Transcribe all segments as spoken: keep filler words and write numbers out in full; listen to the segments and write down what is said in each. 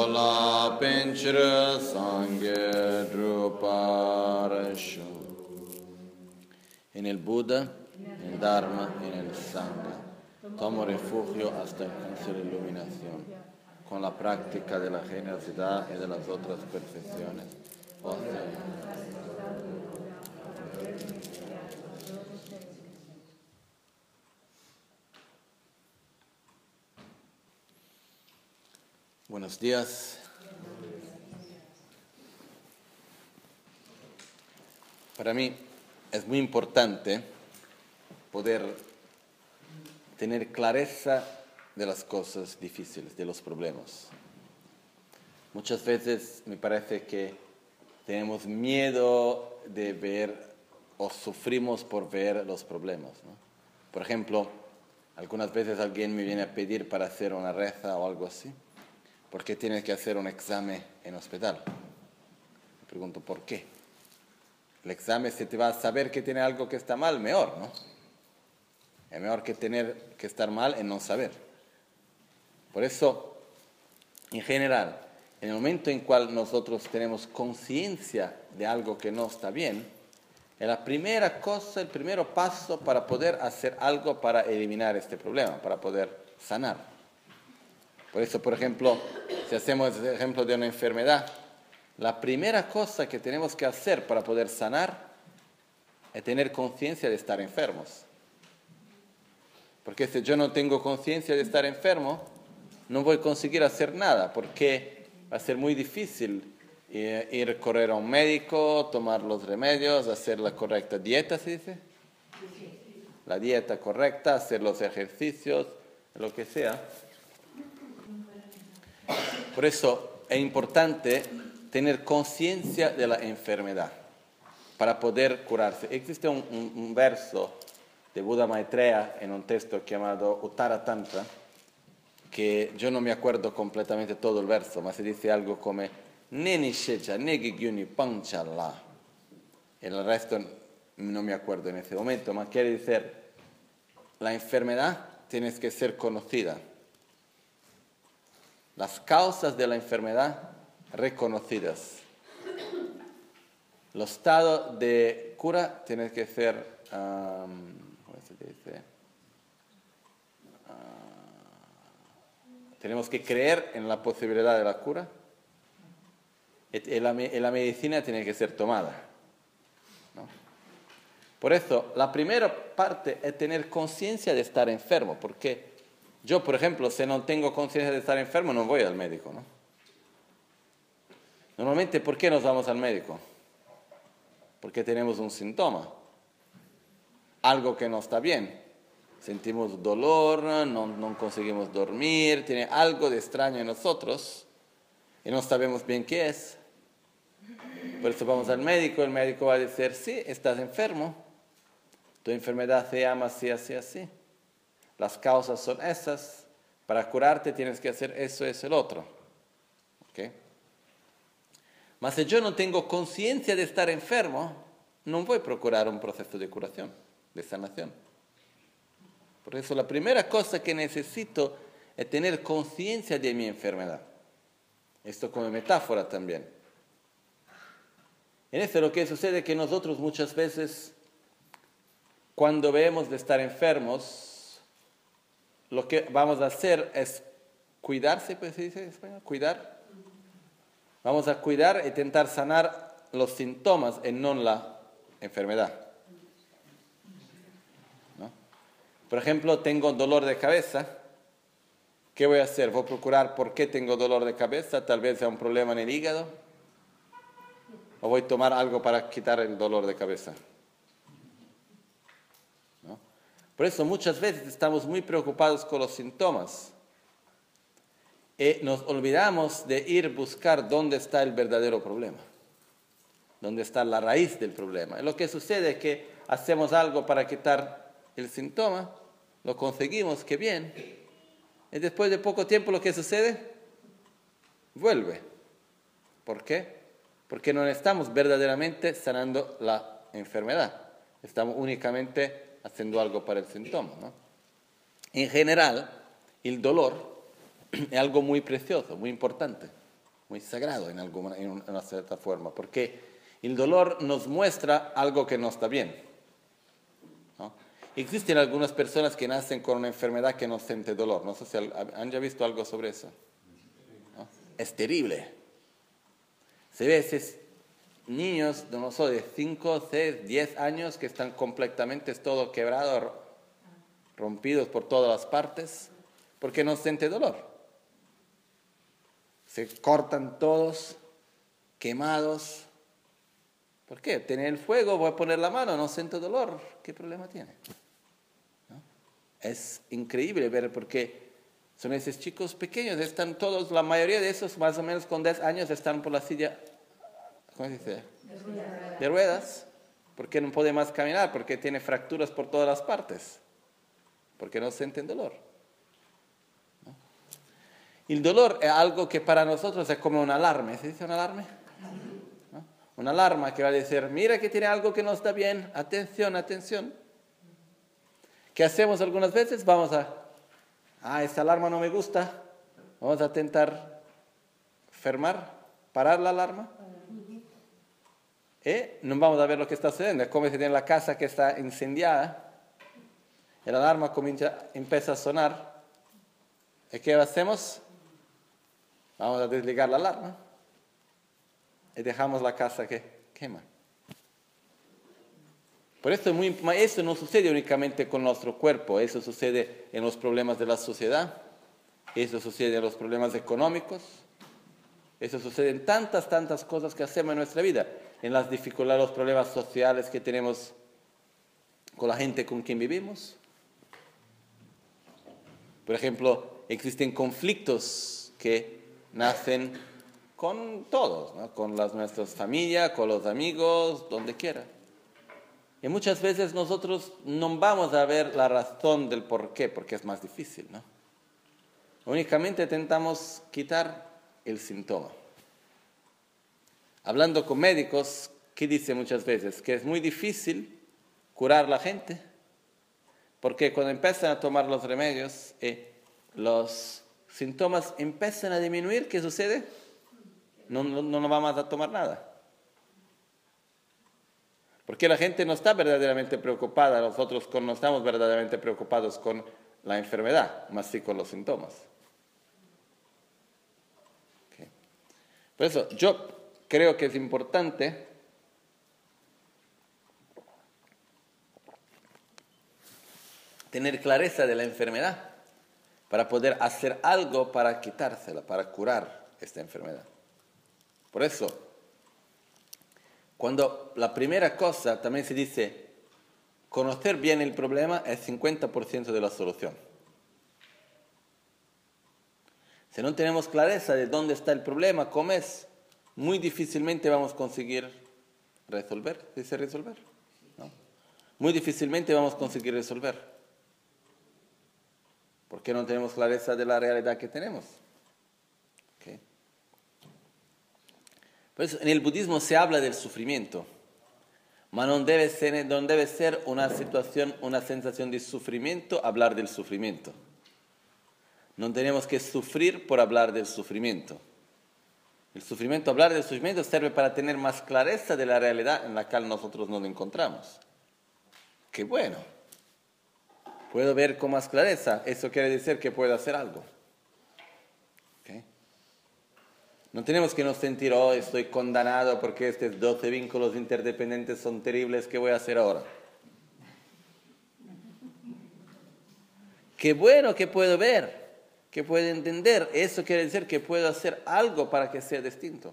Sola Pinchra Sangye Druparashu. En el Buda, en el Dharma y en el Sangha. Tomo refugio hasta alcanzar la iluminación, con la práctica de la generosidad y de las otras perfecciones. Oh, Señor. Buenos días. Para mí es muy importante poder tener clareza de las cosas difíciles, de los problemas. Muchas veces me parece que tenemos miedo de ver o sufrimos por ver los problemas, ¿no? Por ejemplo, algunas veces alguien me viene a pedir para hacer una reza o algo así. ¿Por qué tienes que hacer un examen en hospital? Me pregunto, ¿por qué? El examen, si te va a saber que tiene algo que está mal, mejor, ¿no? Es mejor que tener que estar mal en no saber. Por eso, en general, en el momento en cual nosotros tenemos conciencia de algo que no está bien, es la primera cosa, el primer paso para poder hacer algo para eliminar este problema, para poder sanar. Por eso, por ejemplo, si hacemos el ejemplo de una enfermedad, la primera cosa que tenemos que hacer para poder sanar es tener conciencia de estar enfermos. Porque si yo no tengo conciencia de estar enfermo, no voy a conseguir hacer nada, porque va a ser muy difícil ir a correr a un médico, tomar los remedios, hacer la correcta dieta, ¿se dice? La dieta correcta, hacer los ejercicios, lo que sea. Por eso es importante tener conciencia de la enfermedad para poder curarse. Existe un, un, un verso de Buda Maitreya en un texto llamado Uttara Tantra, que yo no me acuerdo completamente todo el verso, pero se dice algo como Neni Shecha, Negi Gyuni Panchala. El resto no me acuerdo en ese momento, pero quiere decir, la enfermedad tiene que ser conocida. Las causas de la enfermedad reconocidas. Los estados de cura tienen que ser, um, ¿cómo se dice? Uh, tenemos que creer en la posibilidad de la cura y la, y la medicina tiene que ser tomada, ¿no? Por eso, la primera parte es tener conciencia de estar enfermo, porque yo, por ejemplo, si no tengo conciencia de estar enfermo, no voy al médico, ¿no? Normalmente, ¿por qué nos vamos al médico? Porque tenemos un síntoma, algo que no está bien. Sentimos dolor, no, no conseguimos dormir, tiene algo de extraño en nosotros y no sabemos bien qué es. Por eso vamos al médico, el médico va a decir, sí, estás enfermo, tu enfermedad se llama así, así, así. Las causas son esas. Para curarte tienes que hacer eso, eso, el otro. ¿Okay? Mas si yo no tengo conciencia de estar enfermo, no voy a procurar un proceso de curación, de sanación. Por eso la primera cosa que necesito es tener conciencia de mi enfermedad. Esto como metáfora también. En eso lo que sucede es que nosotros muchas veces, cuando vemos de estar enfermos, lo que vamos a hacer es cuidarse, pues se dice en español, cuidar. Vamos a cuidar e intentar sanar los síntomas y no la enfermedad, ¿no? Por ejemplo, tengo dolor de cabeza. ¿Qué voy a hacer? Voy a procurar por qué tengo dolor de cabeza. Tal vez sea un problema en el hígado. O voy a tomar algo para quitar el dolor de cabeza. Por eso muchas veces estamos muy preocupados con los síntomas y nos olvidamos de ir a buscar dónde está el verdadero problema, dónde está la raíz del problema. Y lo que sucede es que hacemos algo para quitar el síntoma, lo conseguimos, qué bien, y después de poco tiempo lo que sucede, vuelve. ¿Por qué? Porque no estamos verdaderamente sanando la enfermedad, estamos únicamente haciendo algo para el síntoma, ¿no? En general, el dolor es algo muy precioso, muy importante. muy sagrado en, alguna, en una cierta forma, porque el dolor nos muestra algo que no está bien, ¿no? Existen algunas personas que nacen con una enfermedad que no siente dolor. No sé si han ya visto algo sobre eso, ¿no? Es terrible. Se ve esos niños, no sé, de cinco, seis, diez años que están completamente todo quebrados, rompidos por todas las partes, porque no siente dolor. Se cortan todos, quemados. ¿Por qué? Tiene el fuego, voy a poner la mano, no siento dolor. ¿Qué problema tiene? ¿No? Es increíble ver porque son esos chicos pequeños, están todos, la mayoría de esos más o menos con diez años están por la silla, ¿cómo se dice? De ruedas. De ruedas, porque no puede más caminar, porque tiene fracturas por todas las partes, porque no sienten dolor. ¿No? El dolor es algo que para nosotros es como una alarma. ¿Se dice una alarma? ¿No? Una alarma que va a decir, mira que tiene algo que no está bien, atención, atención. ¿Qué hacemos algunas veces? Vamos a, ah, esta alarma no me gusta, vamos a intentar fermar, parar la alarma. Y no vamos a ver lo que está sucediendo. Es como si tiene la casa que está incendiada, y la alarma comienza, empieza a sonar. ¿Y qué hacemos? Vamos a desligar la alarma y dejamos la casa que quema. Por eso, es muy, eso no sucede únicamente con nuestro cuerpo, eso sucede en los problemas de la sociedad, eso sucede en los problemas económicos, eso sucede en tantas, tantas cosas que hacemos en nuestra vida, en las dificultades, los problemas sociales que tenemos con la gente con quien vivimos. Por ejemplo, existen conflictos que nacen con todos, ¿no? Con las, nuestras familias, con los amigos, donde quiera. Y muchas veces nosotros no vamos a ver la razón del por qué, porque es más difícil, ¿no? Únicamente intentamos quitar el síntoma. Hablando con médicos, ¿qué dice muchas veces? Que es muy difícil curar a la gente, porque cuando empiezan a tomar los remedios, eh, los síntomas empiezan a disminuir, ¿qué sucede? No, no, no vamos a tomar nada. Porque la gente no está verdaderamente preocupada, nosotros no estamos verdaderamente preocupados con la enfermedad, más sí con los síntomas. Okay. Por eso yo creo que es importante tener clareza de la enfermedad para poder hacer algo para quitársela, para curar esta enfermedad. Por eso, cuando la primera cosa, también se dice, conocer bien el problema es cincuenta por ciento de la solución. Si no tenemos clareza de dónde está el problema, cómo es, muy difícilmente vamos a conseguir resolver. ¿Se dice resolver? ¿No? Muy difícilmente vamos a conseguir resolver. Porque no tenemos clareza de la realidad que tenemos. ¿Okay? Por eso en el budismo se habla del sufrimiento, pero no debe ser, no debe ser una situación, una sensación de sufrimiento hablar del sufrimiento. No tenemos que sufrir por hablar del sufrimiento. El sufrimiento, hablar del sufrimiento sirve para tener más clareza de la realidad en la cual nosotros nos encontramos. ¡Qué bueno! Puedo ver con más clareza, eso quiere decir que puedo hacer algo. ¿Okay? No tenemos que nos sentir, oh, estoy condenado porque estos doce vínculos interdependientes son terribles, ¿qué voy a hacer ahora? ¡Qué bueno que puedo ver! Que puedo entender, eso quiere decir que puedo hacer algo para que sea distinto.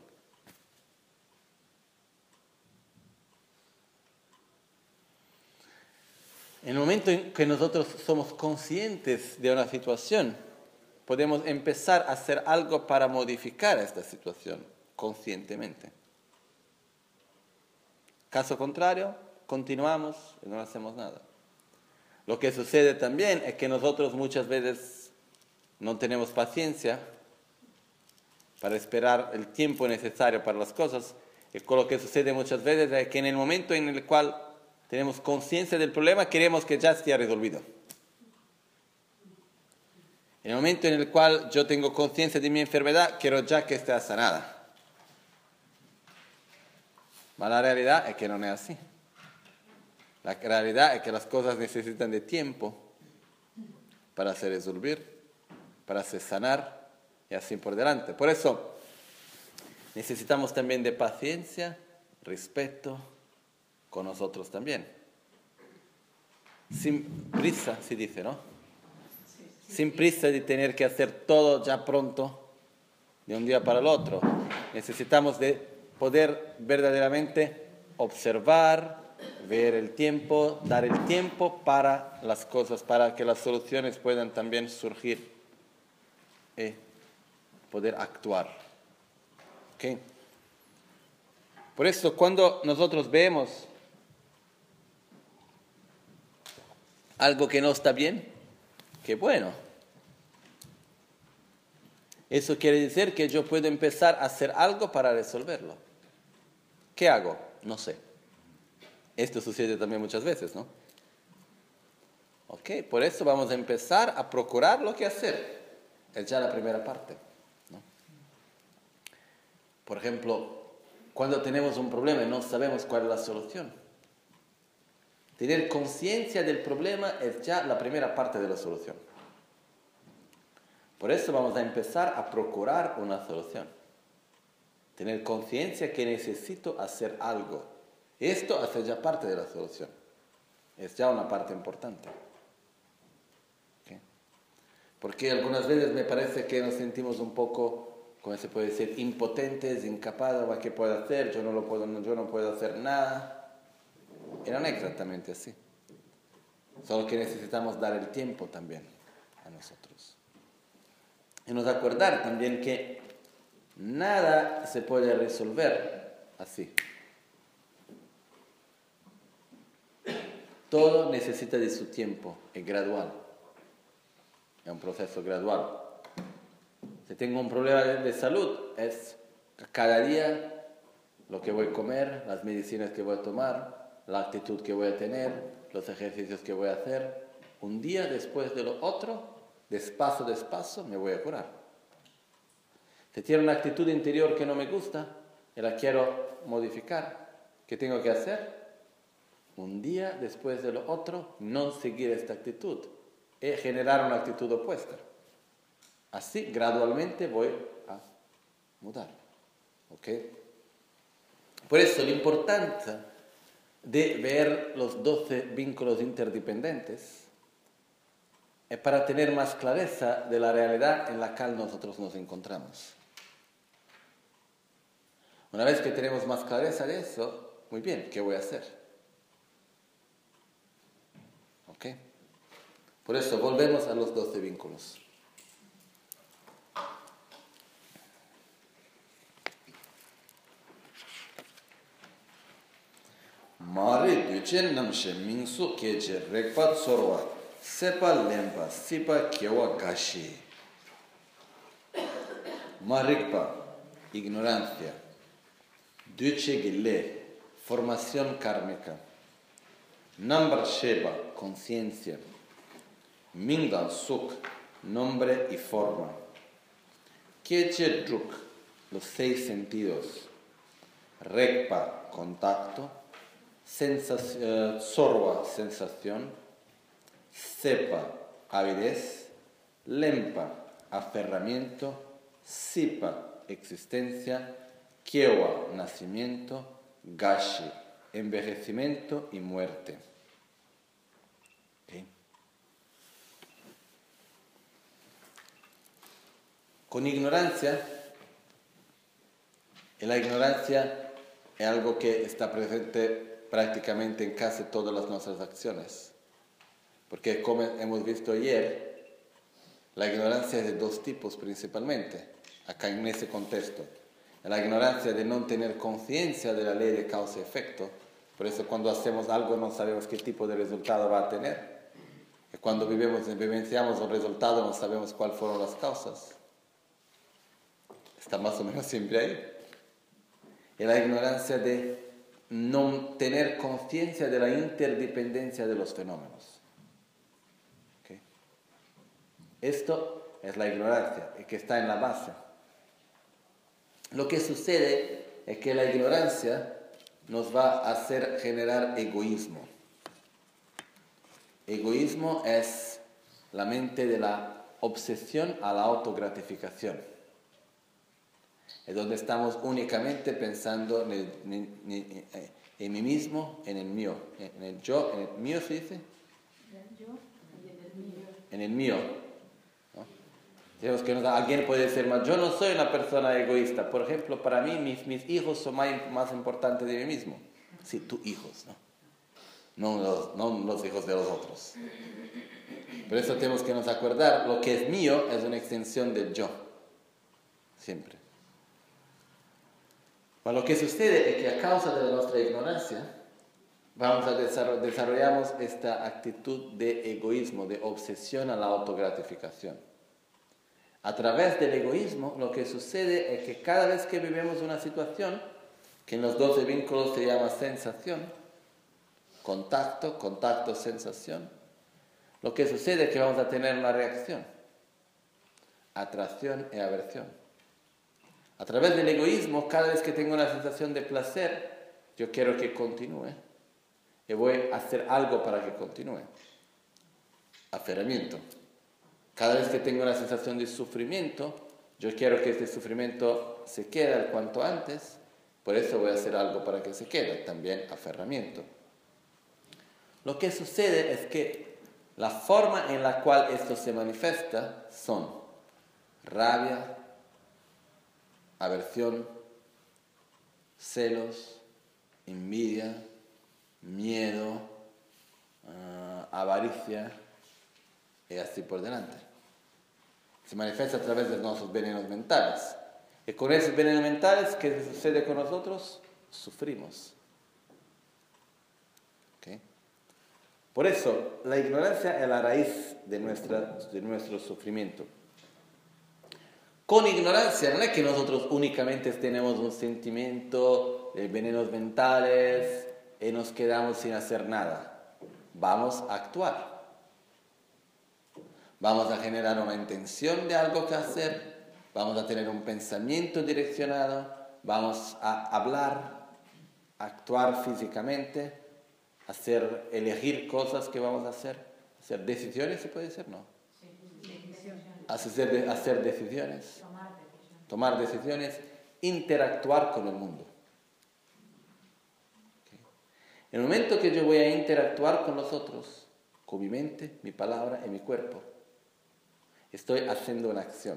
En el momento en que nosotros somos conscientes de una situación, podemos empezar a hacer algo para modificar esta situación conscientemente. Caso contrario, continuamos y no hacemos nada. Lo que sucede también es que nosotros muchas veces no tenemos paciencia para esperar el tiempo necesario para las cosas. Y con lo que sucede muchas veces es que en el momento en el cual tenemos conciencia del problema, queremos que ya esté resolvido. En el momento en el cual yo tengo conciencia de mi enfermedad, quiero ya que esté sanada. Ma la realidad es que no es así. La realidad es que las cosas necesitan de tiempo para se resolver, para se sanar y así por delante. Por eso necesitamos también de paciencia, respeto con nosotros también. Sin prisa, se dice, ¿no? Sin prisa de tener que hacer todo ya pronto, de un día para el otro. Necesitamos de poder verdaderamente observar, ver el tiempo, dar el tiempo para las cosas, para que las soluciones puedan también surgir y poder actuar. ¿Okay? Por eso, cuando nosotros vemos algo que no está bien, qué bueno. Eso quiere decir que yo puedo empezar a hacer algo para resolverlo. ¿Qué hago? No sé. Esto sucede también muchas veces, ¿no? Ok, por eso vamos a empezar a procurar lo que hacer. Es ya la primera parte, ¿no? Por ejemplo, cuando tenemos un problema y no sabemos cuál es la solución, tener conciencia del problema es ya la primera parte de la solución. Por eso vamos a empezar a procurar una solución. Tener conciencia que necesito hacer algo. Esto hace ya parte de la solución. Es ya una parte importante. ¿Okay? Porque algunas veces me parece que nos sentimos un poco, ¿cómo se puede decir?, impotentes, incapaces, ¿qué puedo hacer? Yo no, lo puedo, yo no puedo hacer nada. Y no es exactamente así. Solo que necesitamos dar el tiempo también a nosotros. Y nos acordar también que nada se puede resolver así. Todo necesita de su tiempo, es gradual. Es un proceso gradual. Si tengo un problema de, de salud, es cada día lo que voy a comer, las medicinas que voy a tomar, la actitud que voy a tener, los ejercicios que voy a hacer. Un día después de lo otro, despacio, despacio, me voy a curar. Si tiene una actitud interior que no me gusta y la quiero modificar, ¿qué tengo que hacer? Un día después de lo otro, no seguir esta actitud y generar una actitud opuesta. Así, gradualmente voy a mudar. ¿Ok? Por eso, la importancia de ver los doce vínculos interdependientes es para tener más clareza de la realidad en la cual nosotros nos encontramos. Una vez que tenemos más clareza de eso, muy bien, ¿qué voy a hacer? ¿Ok? Por eso volvemos a los doce vínculos. Mari duchen namshe mingsu keche rekpa tsorwa sepa lempa sipa kewa gashi. Marikpa, ignorancia. Duche gile, formación kármica. Nambar sheba, conciencia. Mingan suk, nombre y forma. Keche druk, los seis sentidos. Rekpa, contacto. Sensación, uh, sorwa, sensación. Sepa, avidez. Lempa, aferramiento. Sipa, existencia. Kiewa, nacimiento. Gashi, envejecimiento y muerte. ¿Okay? Con ignorancia, y la ignorancia es algo que está presente prácticamente en casi todas las nuestras acciones. Porque como hemos visto ayer, la ignorancia es de dos tipos principalmente, acá en ese contexto. La ignorancia de no tener conciencia de la ley de causa y efecto. Por eso cuando hacemos algo no sabemos qué tipo de resultado va a tener. Y cuando vivimos, vivenciamos un resultado no sabemos cuáles fueron las causas. Está más o menos siempre ahí. Y la ignorancia de no tener conciencia de la interdependencia de los fenómenos. ¿Okay? Esto es la ignorancia, y que está en la base. Lo que sucede es que la ignorancia nos va a hacer generar egoísmo. Egoísmo es la mente de la obsesión a la autogratificación. Es donde estamos únicamente pensando en, el, en, en, en mí mismo, en el mío. En el yo, en el mío se dice. En el yo y en el mío. En el mío. ¿No? Digamos que alguien puede decir más, yo no soy una persona egoísta. Por ejemplo, para mí mis, mis hijos son más, más importantes de mí mismo. Sí, tus hijos, ¿no? No los, no los hijos de los otros. Por eso tenemos que nos acordar, lo que es mío es una extensión del yo. Siempre. Pero lo que sucede es que a causa de nuestra ignorancia, vamos a desarroll- desarrollamos esta actitud de egoísmo, de obsesión a la autogratificación. A través del egoísmo, lo que sucede es que cada vez que vivimos una situación, que en los doce vínculos se llama sensación, contacto, contacto, sensación, lo que sucede es que vamos a tener una reacción, atracción y aversión. A través del egoísmo, cada vez que tengo una sensación de placer, yo quiero que continúe y voy a hacer algo para que continúe. Aferramiento. Cada vez que tengo una sensación de sufrimiento, yo quiero que este sufrimiento se quede cuanto antes, por eso voy a hacer algo para que se quede, también aferramiento. Lo que sucede es que la forma en la cual esto se manifiesta son rabia, aversión, celos, envidia, miedo, uh, avaricia y así por delante. Se manifiesta a través de nuestros venenos mentales. Y con esos venenos mentales, ¿qué sucede con nosotros? Sufrimos. ¿Okay? Por eso, la ignorancia es la raíz de, nuestra, de nuestro sufrimiento. Con ignorancia no es que nosotros únicamente tenemos un sentimiento de venenos mentales y nos quedamos sin hacer nada. Vamos a actuar. Vamos a generar una intención de algo que hacer, vamos a tener un pensamiento direccionado, vamos a hablar, actuar físicamente, hacer, elegir cosas que vamos a hacer, hacer decisiones, ¿se puede decir? No. Hacer, hacer decisiones, tomar decisiones, interactuar con el mundo. ¿Okay? En el momento que yo voy a interactuar con los otros, con mi mente, mi palabra y mi cuerpo, estoy haciendo una acción.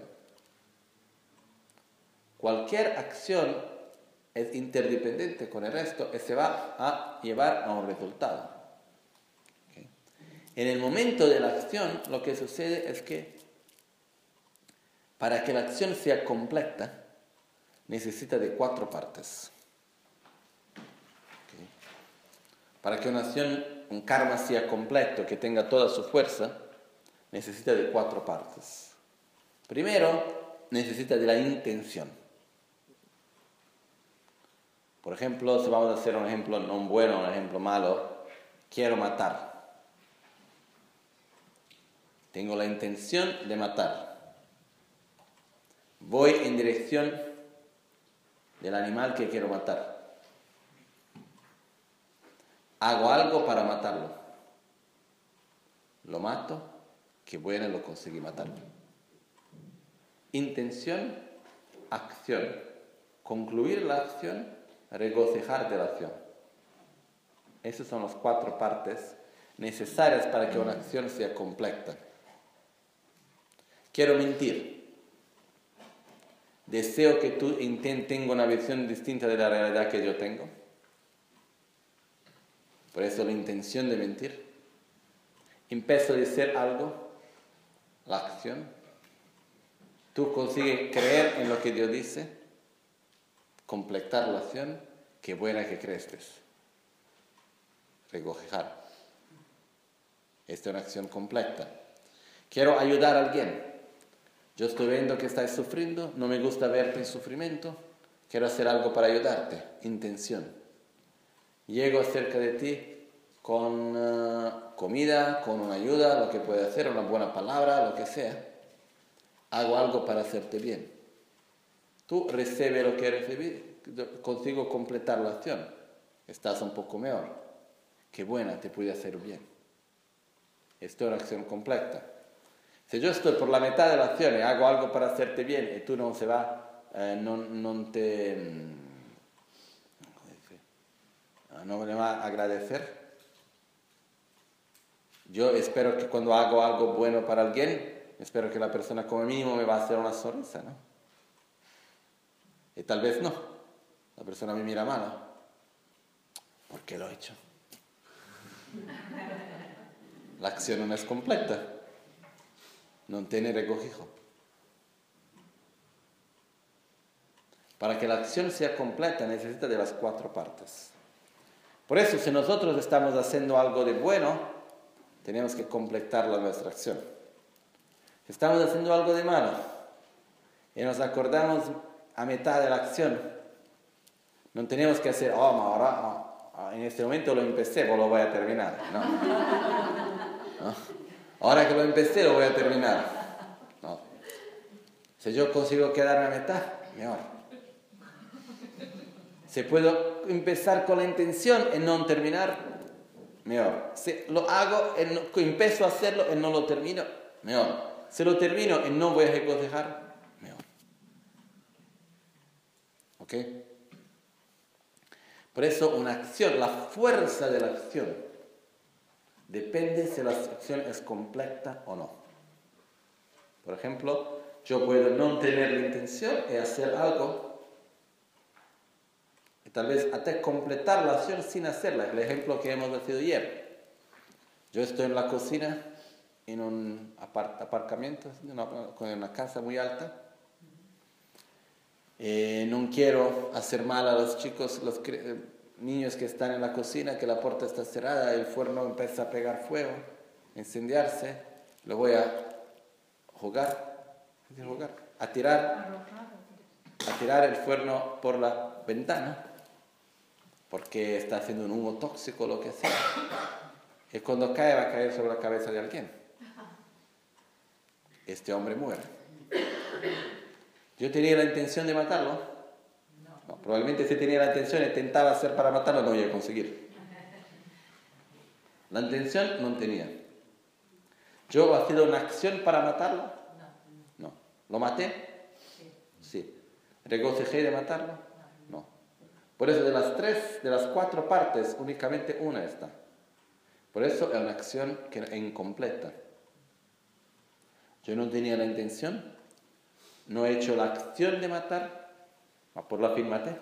Cualquier acción es interdependiente con el resto y se va a llevar a un resultado. ¿Okay? En el momento de la acción, lo que sucede es que para que la acción sea completa, necesita de cuatro partes. ¿Okay? Para que una acción, un karma sea completo, que tenga toda su fuerza, necesita de cuatro partes. Primero, necesita de la intención. Por ejemplo, si vamos a hacer un ejemplo no bueno, un ejemplo malo, quiero matar. Tengo la intención de matar. Voy en dirección del animal que quiero matar. Hago algo para matarlo. Lo mato. Que bueno, lo conseguí matar. Intención, acción. Concluir la acción, regocijar de la acción. Esas son las cuatro partes necesarias para que una acción sea completa. Quiero mentir. Deseo que tú tengas una visión distinta de la realidad que yo tengo. Por eso la intención de mentir. Empiezo a decir algo. La acción. Tú consigues creer en lo que Dios dice, completar la acción, qué buena que crees. Regocijar. Esta es una acción completa. Quiero ayudar a alguien. Yo estoy viendo que estás sufriendo, no me gusta verte en sufrimiento, quiero hacer algo para ayudarte. Intención. Llego cerca de ti con uh, comida, con una ayuda, lo que puede hacer, una buena palabra, lo que sea. hago algo para hacerte bien. Tú recibes lo que recibí, consigo completar la acción. Estás un poco mejor. Qué buena, te puede hacer bien. Esto es una acción completa. Si yo estoy por la mitad de la acción y hago algo para hacerte bien y tú no se va, eh, no, no te... no me va a agradecer. Yo espero que cuando hago algo bueno para alguien, espero que la persona como mínimo me va a hacer una sonrisa, ¿no? Y tal vez no. La persona me mira mal, ¿no? ¿Por qué lo he hecho? La acción no es completa. No tiene regocijo. Para que la acción sea completa necesita de las cuatro partes. Por eso, si nosotros estamos haciendo algo de bueno, tenemos que completar la nuestra acción. Si estamos haciendo algo de malo y nos acordamos a mitad de la acción, no tenemos que hacer, oh, ahora oh, en este momento lo empecé, pues lo voy a terminar. No. ¿No? Ahora que lo empecé, lo voy a terminar. No. Si yo consigo quedarme a mitad, mejor. Si puedo empezar con la intención y no terminar, mejor. Si lo hago, y no, empiezo a hacerlo y no lo termino, mejor. Si lo termino y no voy a regocijar, mejor. ¿Ok? Por eso una acción, la fuerza de la acción, depende si la acción es completa o no. Por ejemplo, yo puedo no tener la intención y hacer algo y tal vez hasta completar la acción sin hacerla. El ejemplo que hemos hecho ayer. Yo estoy en la cocina, en un apart- aparcamiento, con una casa muy alta. Eh, no quiero hacer mal a los chicos, los eh, niños que están en la cocina, que la puerta está cerrada, el fuego empieza a pegar fuego, incendiarse. Lo voy a jugar, jugar a tirar, a tirar el fuego por la ventana, porque está haciendo un humo tóxico, lo que sea. Y cuando cae, va a caer sobre la cabeza de alguien. Este hombre muere. ¿Yo tenía la intención de matarlo? No. No, probablemente si tenía la intención y intentaba hacer para matarlo, no iba a conseguir. La intención no tenía. ¿Yo he sido una acción para matarlo? No. No. ¿Lo maté? Sí. Sí. ¿Regocijé de matarlo? No. Por eso de las tres, de las cuatro partes, únicamente una está. Por eso es una acción que es incompleta. Yo no tenía la intención. No he hecho la acción de matar, ma por la fin maté.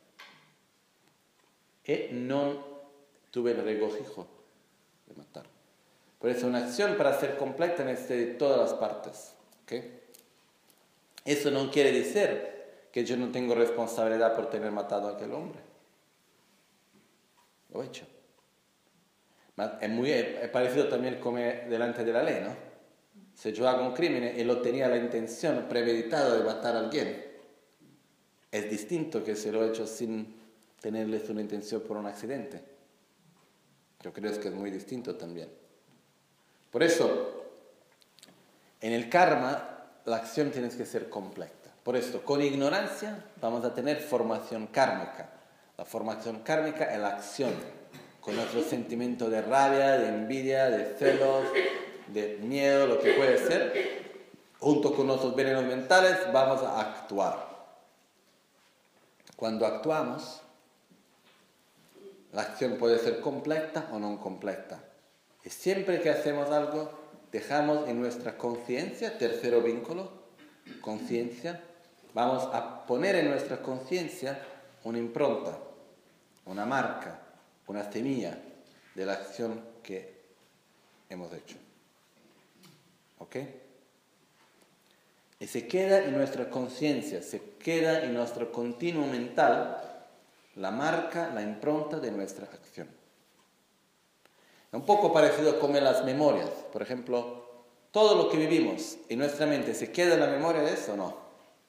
Y no tuve el regocijo de matar. Por eso una acción para ser completa necesita todas las partes. ¿Okay? Eso no quiere decir que yo no tengo responsabilidad por tener matado a aquel hombre. Lo he hecho. Es muy es parecido también como delante de la ley, ¿no? Si yo hago un crimen y lo tenía la intención premeditada de matar a alguien, es distinto que si lo he hecho sin tenerles una intención por un accidente. Yo creo que es muy distinto también. Por eso, en el karma, la acción tiene que ser completa. Por esto, con ignorancia vamos a tener formación kármica. La formación kármica es la acción, con nuestro sentimiento de rabia, de envidia, de celos, de miedo, lo que puede ser, junto con nuestros venenos mentales, vamos a actuar. Cuando actuamos, la acción puede ser completa o no completa. Y siempre que hacemos algo, dejamos en nuestra conciencia, tercero vínculo, conciencia, vamos a poner en nuestra conciencia una impronta, una marca, una semilla de la acción que hemos hecho. ¿Ok? Y se queda en nuestra conciencia, se queda en nuestro continuo mental la marca, la impronta de nuestra acción. Es un poco parecido como en las memorias. Por ejemplo, todo lo que vivimos en nuestra mente, ¿se queda en la memoria de eso o no?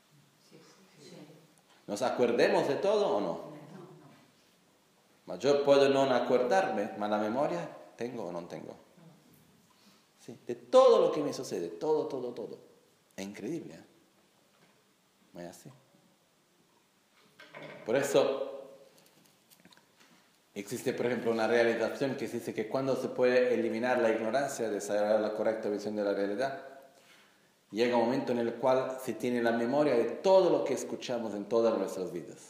¿Nos acordemos de todo o no? Ma yo puedo no acordarme, ma la memoria tengo o no tengo. Sí, de todo lo que me sucede, todo, todo, todo. Es increíble, ¿eh? No es así. Por eso existe, por ejemplo, una realización que dice que cuando se puede eliminar la ignorancia, desarrollar la correcta visión de la realidad, llega un momento en el cual se tiene la memoria de todo lo que escuchamos en todas nuestras vidas.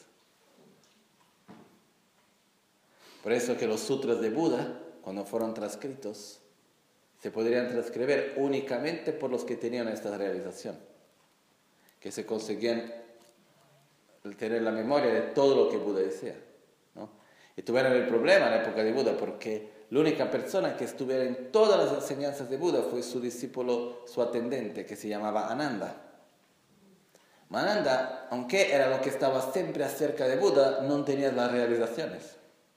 Por eso que los sutras de Buda, cuando fueron transcritos, se podrían transcribir únicamente por los que tenían esta realización, que se conseguían tener la memoria de todo lo que Buda decía, ¿no? Y tuvieron el problema en la época de Buda, porque la única persona que estuviera en todas las enseñanzas de Buda fue su discípulo, su atendente, que se llamaba Ananda. Ananda, aunque era lo que estaba siempre acerca de Buda, no tenía las realizaciones.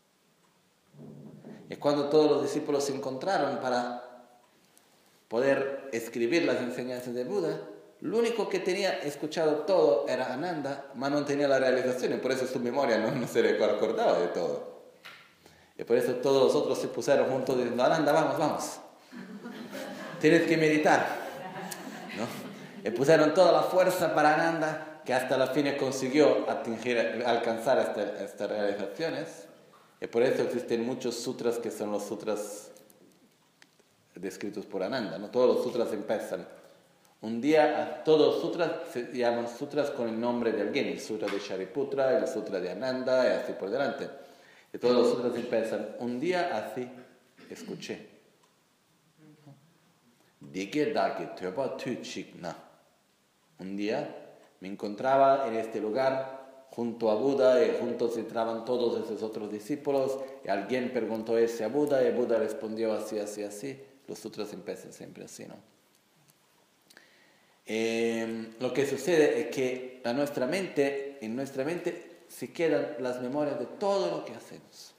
Y cuando todos los discípulos se encontraron para poder escribir las enseñanzas de Buda, lo único que tenía escuchado todo era Ananda, pero no tenía la realización, y por eso su memoria no, no se le acordaba de todo. Y por eso todos los otros se pusieron juntos diciendo, Ananda, vamos, vamos. Tienes que meditar, ¿no? Y pusieron toda la fuerza para Ananda, que hasta la fin consiguió atingir, alcanzar estas esta realizaciones. Y por eso existen muchos sutras que son los sutras descritos por Ananda, ¿no? Todos los sutras empiezan. Un día, todos los sutras se llaman sutras con el nombre de alguien, el sutra de Shariputra, el sutra de Ananda, y así por delante. Y todos los sutras empiezan, un día así escuché. Un día me encontraba en este lugar junto a Buda, y juntos entraban todos esos otros discípulos, y alguien preguntó ese a Buda, y Buda respondió así, así, así. Los sutras empiezan siempre así, ¿no? Eh, lo que sucede es que a nuestra mente, en nuestra mente se quedan las memorias de todo lo que hacemos.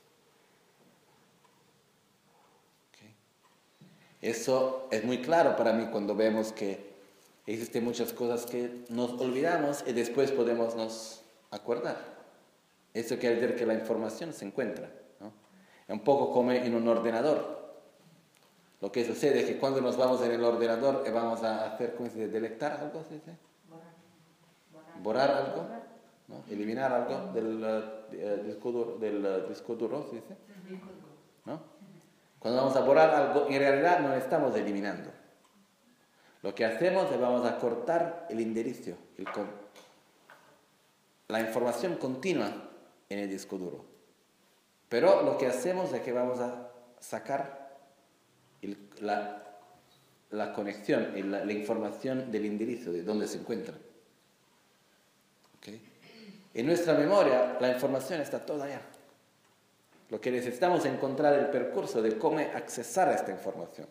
¿Okay? Eso es muy claro para mí cuando vemos que existen muchas cosas que nos olvidamos y después podemos nos acordar. Eso quiere decir que la información se encuentra, ¿no? Es un poco como en un ordenador. Lo que sucede es que cuando nos vamos en el ordenador y vamos a hacer, ¿cómo se dice? ¿Delectar algo? ¿Se dice? ¿Borrar algo? ¿No? ¿Eliminar algo del, uh, disco duro, del uh, disco duro? ¿Se dice? ¿No? Cuando vamos a borrar algo, en realidad no estamos eliminando. Lo que hacemos es vamos a cortar el enderezo, el con... la información continua en el disco duro. Pero lo que hacemos es que vamos a sacar el, la, la conexión, la, la información del enderezo, de dónde se encuentra. ¿Okay? En nuestra memoria la información está toda allá. Lo que necesitamos es encontrar el percurso de cómo accesar a esta información.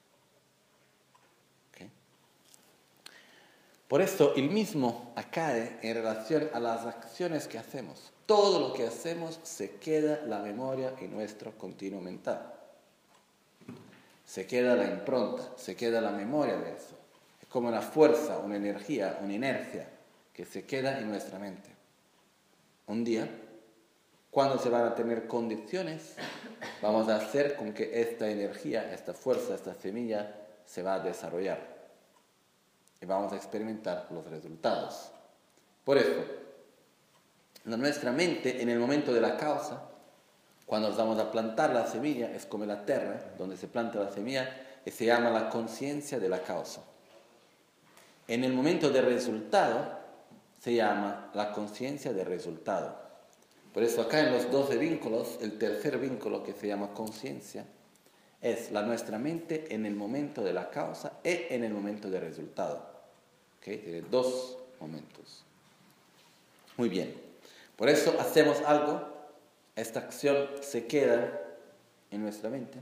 ¿Okay? Por eso el mismo acae en relación a las acciones que hacemos. Todo lo que hacemos se queda la memoria en nuestro continuo mental. Se queda la impronta, se queda la memoria de eso. Es como una fuerza, una energía, una inercia que se queda en nuestra mente. Un día, cuando se van a tener condiciones, vamos a hacer con que esta energía, esta fuerza, esta semilla se va a desarrollar. Y vamos a experimentar los resultados. Por eso, nuestra mente, en el momento de la causa, cuando nos vamos a plantar la semilla, es como la tierra, donde se planta la semilla, y se llama la conciencia de la causa. En el momento del resultado, se llama la conciencia del resultado. Por eso acá en los doce vínculos, el tercer vínculo que se llama conciencia, es la nuestra mente en el momento de la causa y en el momento del resultado. ¿Okay? Tiene dos momentos. Muy bien. Por eso hacemos algo. Esta acción se queda en nuestra mente.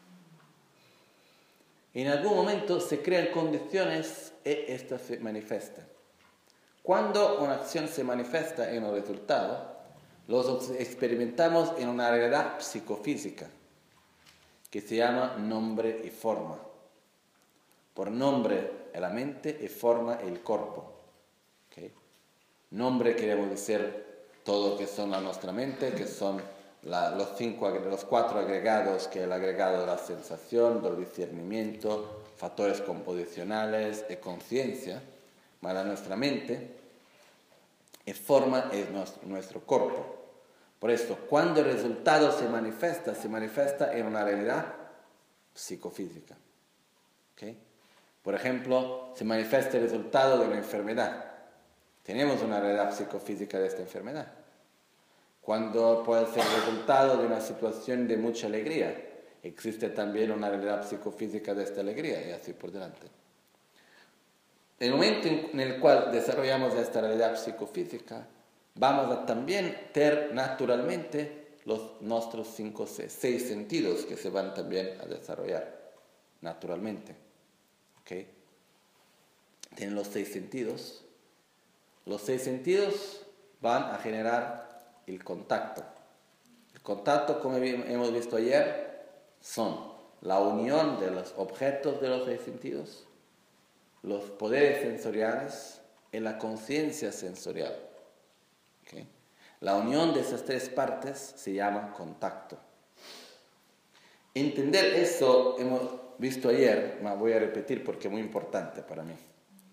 En algún momento se crean condiciones y esta se manifiesta. Cuando una acción se manifiesta en un resultado, los experimentamos en una realidad psicofísica que se llama nombre y forma. Por nombre es la mente y forma el cuerpo. ¿Okay? Nombre queremos decir todo lo que son la nuestra mente, que son la, los, cinco, los cuatro agregados, que es el agregado de la sensación, del discernimiento, factores composicionales y conciencia. ma la nostra mente, e forma es nuestro, nuestro cuerpo. Por eso, cuando el resultado se manifiesta, se manifiesta en una realidad psicofísica. ¿Okay? Por ejemplo, se manifiesta el resultado de una enfermedad. Tenemos una realidad psicofísica de esta enfermedad. Cuando puede ser el resultado de una situación de mucha alegría, existe también una realidad psicofísica de esta alegría, y así por delante. En el momento en el cual desarrollamos esta realidad psicofísica, vamos a también tener naturalmente los nuestros cinco, seis sentidos que se van también a desarrollar naturalmente. ¿Okay? Tienen los seis sentidos. Los seis sentidos van a generar el contacto. El contacto, como hemos visto ayer, son la unión de los objetos de los seis sentidos, los poderes sensoriales y la conciencia sensorial. ¿Okay? La unión de esas tres partes se llama contacto. Entender eso hemos visto ayer, pero voy a repetir porque es muy importante para mí.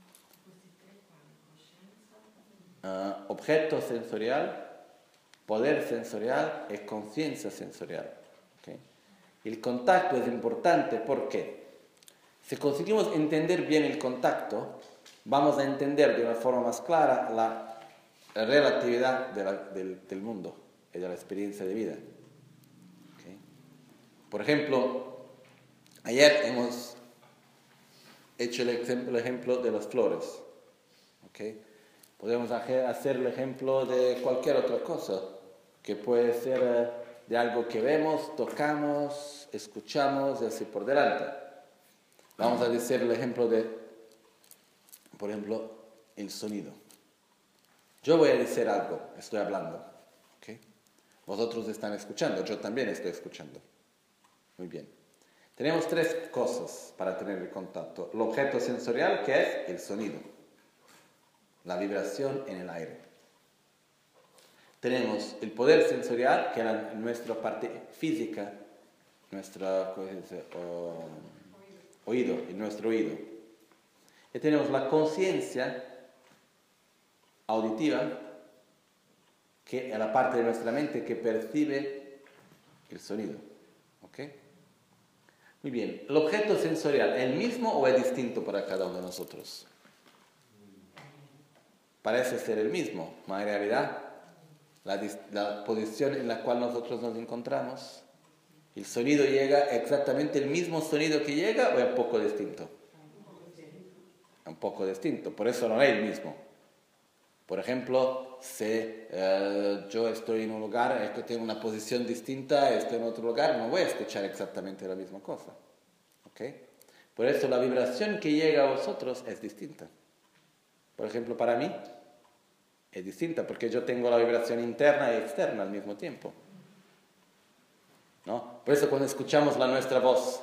Uh, objeto sensorial, poder sensorial y conciencia sensorial. ¿Okay? El contacto es importante porque si conseguimos entender bien el contacto, vamos a entender de una forma más clara la relatividad de la, del, del mundo y de la experiencia de vida. ¿Okay? Por ejemplo, ayer hemos hecho el ejemplo, el ejemplo de las flores. ¿Okay? Podemos hacer el ejemplo de cualquier otra cosa, que puede ser de algo que vemos, tocamos, escuchamos y así por delante. Vamos a decir el ejemplo de, por ejemplo, el sonido. Yo voy a decir algo, estoy hablando. ¿Okay? Vosotros están escuchando, yo también estoy escuchando. Muy bien. Tenemos tres cosas para tener el contacto. El objeto sensorial, que es el sonido. La vibración en el aire. Tenemos el poder sensorial, que es nuestra parte física, nuestra, ¿cómo se dice? Oh, oído, en nuestro oído. Y tenemos la conciencia auditiva, que es la parte de nuestra mente que percibe el sonido. ¿Ok? Muy bien. ¿El objeto sensorial es el mismo o es distinto para cada uno de nosotros? Parece ser el mismo, pero en realidad la, la posición en la cual nosotros nos encontramos, el sonido llega exactamente el mismo sonido que llega o es un poco distinto. Un poco distinto, por eso no es el mismo. Por ejemplo, si eh, yo estoy en un lugar, es que tengo una posición distinta, estoy en otro lugar, no voy a escuchar exactamente la misma cosa. ¿Okay? Por eso la vibración que llega a vosotros es distinta. Por ejemplo, para mí es distinta porque yo tengo la vibración interna y externa al mismo tiempo. ¿No? Por eso cuando escuchamos la nuestra voz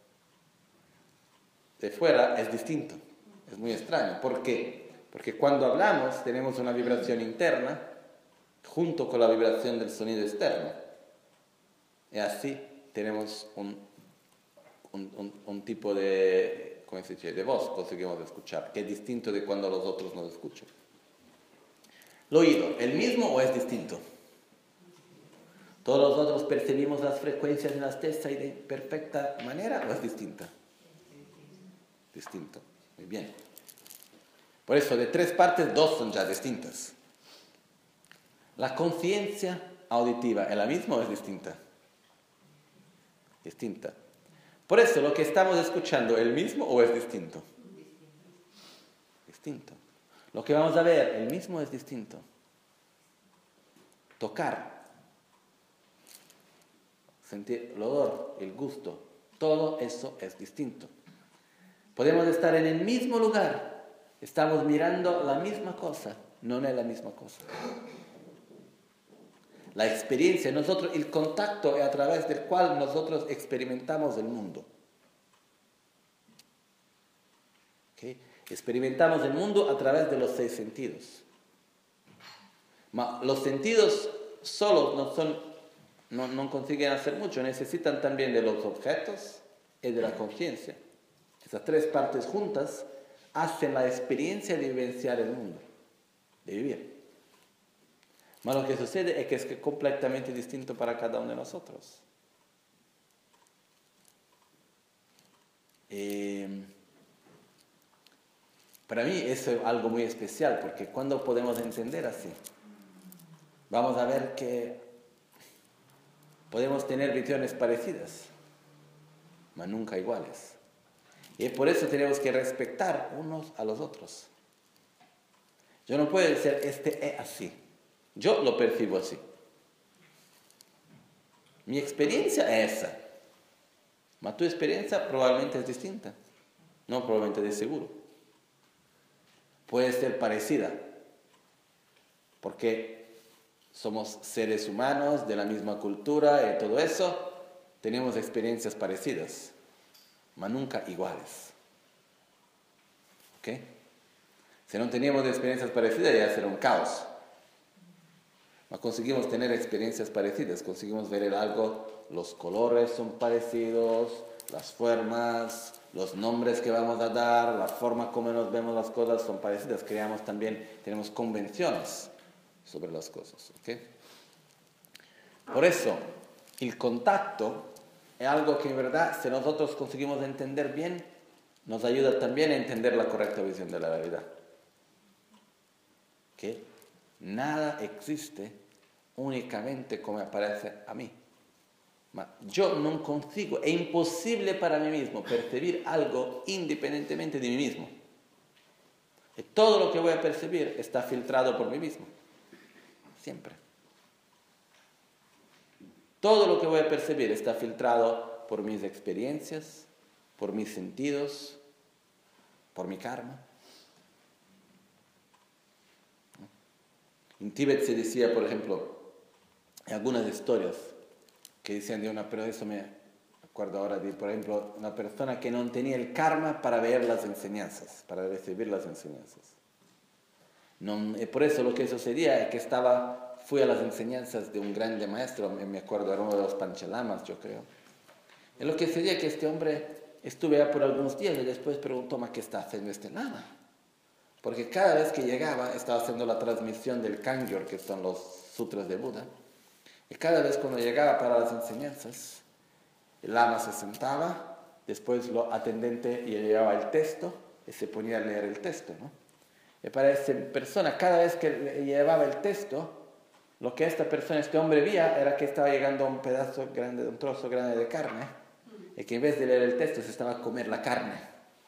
de fuera es distinto. Es muy extraño. ¿Por qué? Porque cuando hablamos tenemos una vibración interna junto con la vibración del sonido externo. Y así tenemos un, un, un, un tipo de, ¿cómo se dice? De voz conseguimos escuchar, que es distinto de cuando los otros nos escuchan. El oído, ¿el mismo o es distinto? ¿Todos nosotros percibimos las frecuencias en las testas de perfecta manera o es distinta? Distinto. Muy bien. Por eso, de tres partes, dos son ya distintas. ¿La conciencia auditiva es la misma o es distinta? Distinta. Por eso, lo que estamos escuchando, ¿es el mismo o es distinto? Distinto. Lo que vamos a ver, ¿el mismo o es distinto? Tocar. Sentir el olor, el gusto, todo eso es distinto. Podemos estar en el mismo lugar, estamos mirando la misma cosa, no es la misma cosa. La experiencia, nosotros, el contacto es a través del cual nosotros experimentamos el mundo. ¿Okay? Experimentamos el mundo a través de los seis sentidos. Ma los sentidos solos no son No, no consiguen hacer mucho, necesitan también de los objetos y de la conciencia. Esas tres partes juntas hacen la experiencia de vivenciar el mundo, de vivir. Mas lo que sucede es que es completamente distinto para cada uno de nosotros. Eh, para mí eso es algo muy especial, porque cuando podemos entender así, vamos a ver que podemos tener visiones parecidas, mas nunca iguales. Y por eso tenemos que respetar unos a los otros. Yo no puedo decir, este es así. Yo lo percibo así. Mi experiencia es esa. Mas tu experiencia probablemente es distinta. No probablemente de seguro. Puede ser parecida. Porque somos seres humanos de la misma cultura y todo eso. Tenemos experiencias parecidas. Mas nunca iguales. ¿Ok? Si no teníamos experiencias parecidas, ya será un caos. Mas conseguimos tener experiencias parecidas, conseguimos ver el algo, los colores son parecidos, las formas, los nombres que vamos a dar, la forma como nos vemos las cosas son parecidas. Creamos también, tenemos convenciones sobre las cosas. ¿Okay? Por eso, el contacto es algo que en verdad, si nosotros conseguimos entender bien, nos ayuda también a entender la correcta visión de la realidad. Que nada existe únicamente como aparece a mí. Ma yo no consigo, es imposible para mí mismo percibir algo independientemente de mí mismo. Y todo lo que voy a percibir está filtrado por mí mismo. Siempre. Todo lo que voy a percibir está filtrado por mis experiencias, por mis sentidos, por mi karma. En Tíbet se decía, por ejemplo, en algunas historias que decían de una, pero eso me acuerdo ahora de, por ejemplo, una persona que no tenía el karma para ver las enseñanzas, para recibir las enseñanzas. No, por eso lo que sucedía es que estaba, fui a las enseñanzas de un grande maestro, me acuerdo, era uno de los Panchalamas, yo creo. Y lo que sucedía es que este hombre estuve allá por algunos días y después preguntó, ¿ma qué está haciendo este lama? Porque cada vez que llegaba, estaba haciendo la transmisión del Kangyur, que son los sutras de Buda. Y cada vez cuando llegaba para las enseñanzas, el lama se sentaba, después lo atendente le llevaba el texto y se ponía a leer el texto, ¿no? Y para esa persona, cada vez que le llevaba el texto, lo que esta persona, este hombre veía, era que estaba llegando a un pedazo grande, un trozo grande de carne, y que en vez de leer el texto se estaba a comer la carne.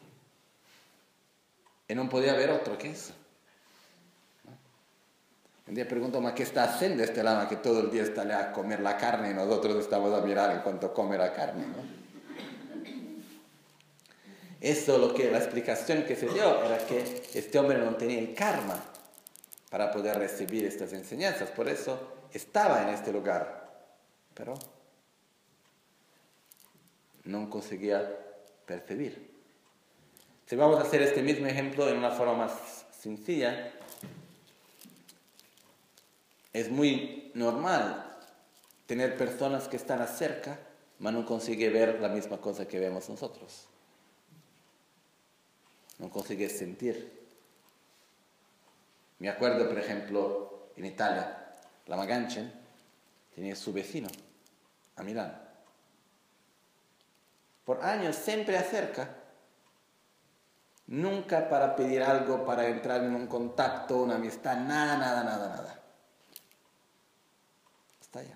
Y no podía ver otro que eso. ¿No? Un día pregunto, ¿ma qué está haciendo este lama que todo el día está a comer la carne y nosotros estamos a mirar en cuanto come la carne? ¿No? Eso, lo que, la explicación que se dio era que este hombre no tenía el karma para poder recibir estas enseñanzas. Por eso estaba en este lugar, pero no conseguía percibir. Si vamos a hacer este mismo ejemplo en una forma más sencilla, es muy normal tener personas que están cerca, pero no consiguen ver la misma cosa que vemos nosotros. No consiguen sentir. Me acuerdo, por ejemplo, en Italia, la Maganchen tenía su vecino, a Milán. Por años siempre acerca. Nunca para pedir algo, para entrar en un contacto, una amistad, nada, nada, nada, nada. Está allá.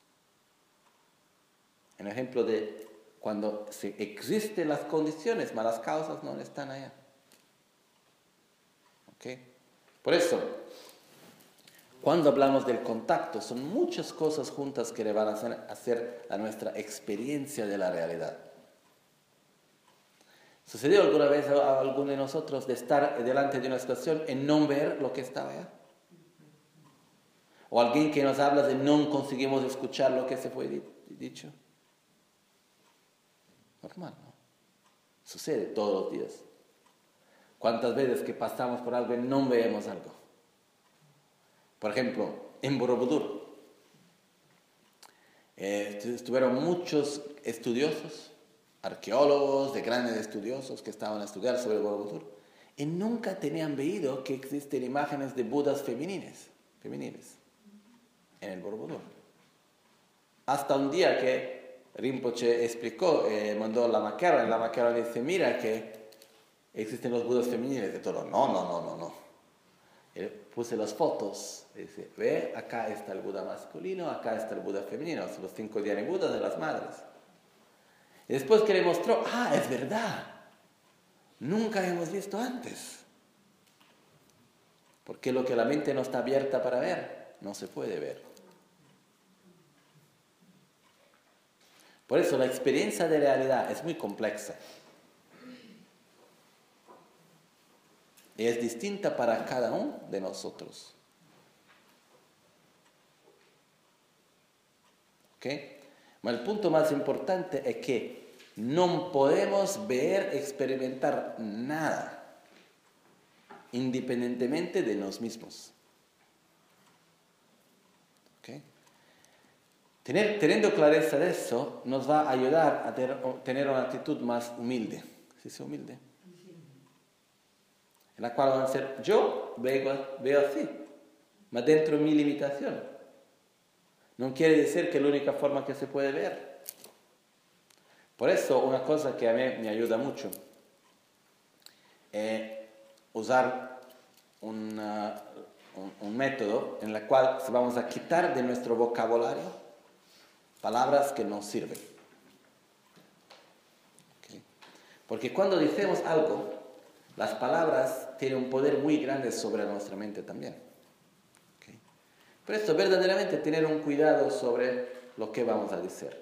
Un ejemplo de cuando se existen las condiciones, mas las causas no están allá. ¿Ok? Por eso, cuando hablamos del contacto, son muchas cosas juntas que le van a hacer, hacer a nuestra experiencia de la realidad. ¿Sucedió alguna vez a alguno de nosotros de estar delante de una situación y no ver lo que estaba allá? ¿O alguien que nos habla de no conseguimos escuchar lo que se fue dicho? Normal, ¿no? Sucede todos los días. ¿Cuántas veces que pasamos por algo y no vemos algo? Por ejemplo, en Borobudur eh, estuvieron muchos estudiosos, arqueólogos, de grandes estudiosos que estaban a estudiar sobre Borobudur, y nunca tenían veído que existen imágenes de Budas femeninas, femeniles en el Borobudur. Hasta un día que Rinpoche explicó, eh, mandó la maquera, y la maquera le dice, mira que existen los Budas femeniles. Y todo, no, no, no, no, no. Y puse las fotos, y dice, ve, acá está el Buda masculino, acá está el Buda femenino, son los cinco Dhyani Budas de las madres. Y después que le mostró, ah, es verdad, nunca hemos visto antes. Porque lo que la mente no está abierta para ver, no se puede ver. Por eso la experiencia de realidad es muy compleja. Y es distinta para cada uno de nosotros. ¿Ok? Ma il punto más importante è che non podemos ver, experimentar nada independientemente de nos mismos. ¿Ok? Tener, teniendo clareza de eso, nos va a ayudar a ter, tener una actitud más humilde. ¿Sí es humilde? En la cual van a ser, yo veo, veo así, ma dentro mi limitación. No quiere decir que es la única forma que se puede ver. Por eso, una cosa que a mí me ayuda mucho es usar una, un, un método en el cual vamos a quitar de nuestro vocabulario palabras que no sirven. ¿Okay? Porque cuando decimos algo, las palabras tienen un poder muy grande sobre nuestra mente también. ¿Okay? Por eso, verdaderamente, tener un cuidado sobre lo que vamos a decir.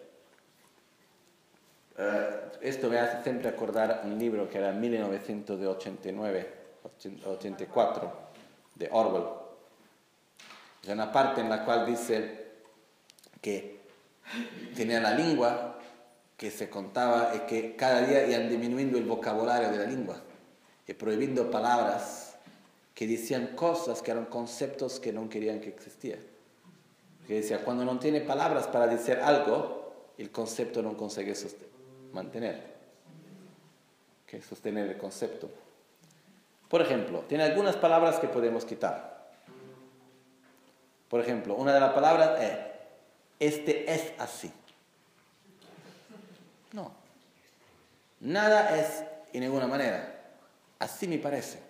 Uh, esto me hace siempre acordar un libro que era mil novecientos ochenta y nueve, ochenta y cuatro, de Orwell. Hay una parte en la cual dice que tenía la lengua que se contaba y que cada día iban disminuyendo el vocabulario de la lengua y prohibiendo palabras que decían cosas que eran conceptos que no querían que existieran. Que decía, cuando no tiene palabras para decir algo, el concepto no consigue sostener. Mantener, ¿okay? Sostener el concepto. Por ejemplo, tiene algunas palabras que podemos quitar. Por ejemplo, una de las palabras es, este es así. No. Nada es en ninguna manera. Así me parece.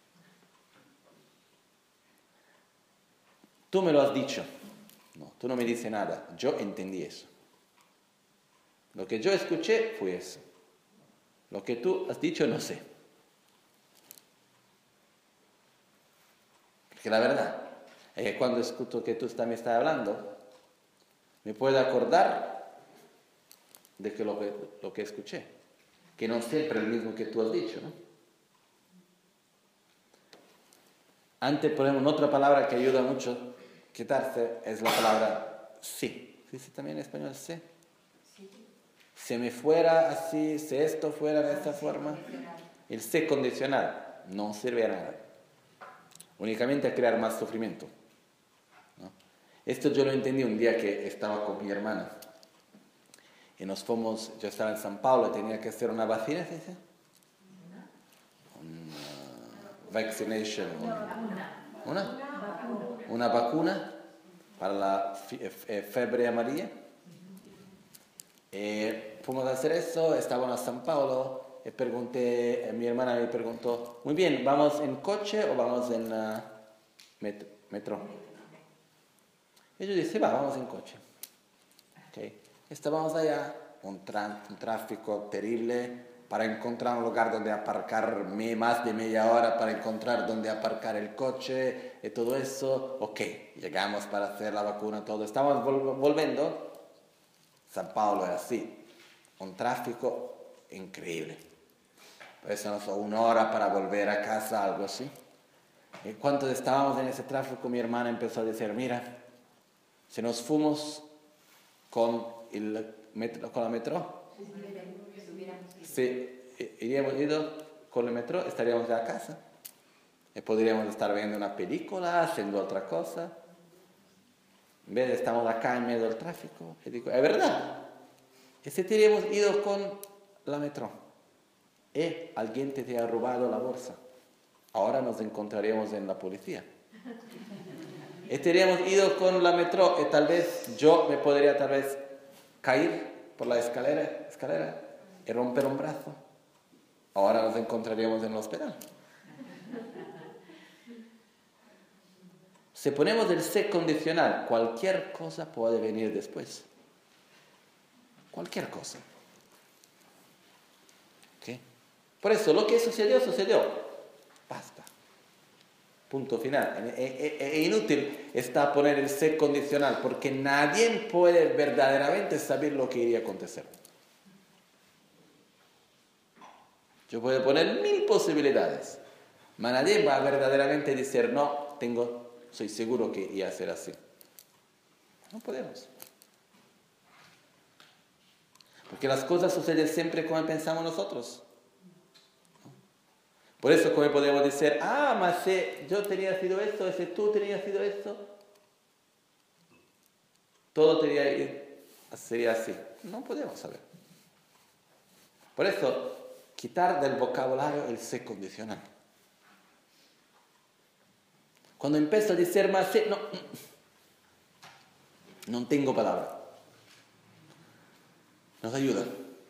Tú me lo has dicho. No, tú no me dices nada. Yo entendí eso. Lo que yo escuché fue eso. Lo que tú has dicho no sé. Porque la verdad es que cuando escucho que tú me estás hablando, me puedo acordar de que lo, que lo que escuché. Que no siempre es el mismo que tú has dicho, ¿no? Antes, por ejemplo, otra palabra que ayuda mucho a quitarse es la palabra sí. ¿Sí, sí también en español sí? Si me fuera así, si esto fuera de esta forma, el sé condicional no sirve a nada. Únicamente a crear más sufrimiento, ¿no? Esto yo lo entendí un día que estaba con mi hermana. Y nos fuimos, yo estaba en San Paulo y tenía que hacer una vacuna, ¿sí? ¿Sí? Una vaccination. Una, ¿una? Una vacuna para la fiebre amarilla. Eh, fuimos a hacer eso, estábamos a San Paulo y pregunté, mi hermana me preguntó, muy bien, ¿vamos en coche o vamos en uh, metro, metro? Y yo dije, va, vamos en coche. Okay. Estábamos allá, un, tra- un tráfico terrible para encontrar un lugar donde aparcar más de media hora para encontrar donde aparcar el coche y todo eso. Ok, llegamos para hacer la vacuna, todo. Estamos vol- volviendo. San Paulo es así, un tráfico increíble. Por eso no son una hora para volver a casa, algo así. Y cuando estábamos en ese tráfico, mi hermana empezó a decir, mira, si nos fuimos con, el metro, con la metro, si iríamos ido con el metro, estaríamos ya a casa. Y podríamos estar viendo una película, haciendo otra cosa. En vez de estamos acá en medio del tráfico. Y digo, es verdad. Y si te hubiéramos ido con la metro y alguien te, te ha robado la bolsa, ahora nos encontraríamos en la policía. Y teníamos ido con la metro y tal vez yo me podría tal vez caer por la escalera, escalera y romper un brazo. Ahora nos encontraríamos en el hospital. Si ponemos el se condicional, cualquier cosa puede venir después. Cualquier cosa. ¿Okay? Por eso, lo que sucedió, sucedió. Basta. Punto final. Es inútil está poner el se condicional, porque nadie puede verdaderamente saber lo que iría a acontecer. Yo puedo poner mil posibilidades, pero nadie va a verdaderamente decir, no, tengo, soy seguro que iba a ser así. No podemos. Porque las cosas suceden siempre como pensamos nosotros. Por eso, como podemos decir, ah, mas si yo tenía sido esto, si tú tenías sido esto, todo tenía, sería así. No podemos saber. Por eso, quitar del vocabulario el se condicional. Cuando empiezo a decir más si, no, no tengo palabra. Nos ayuda.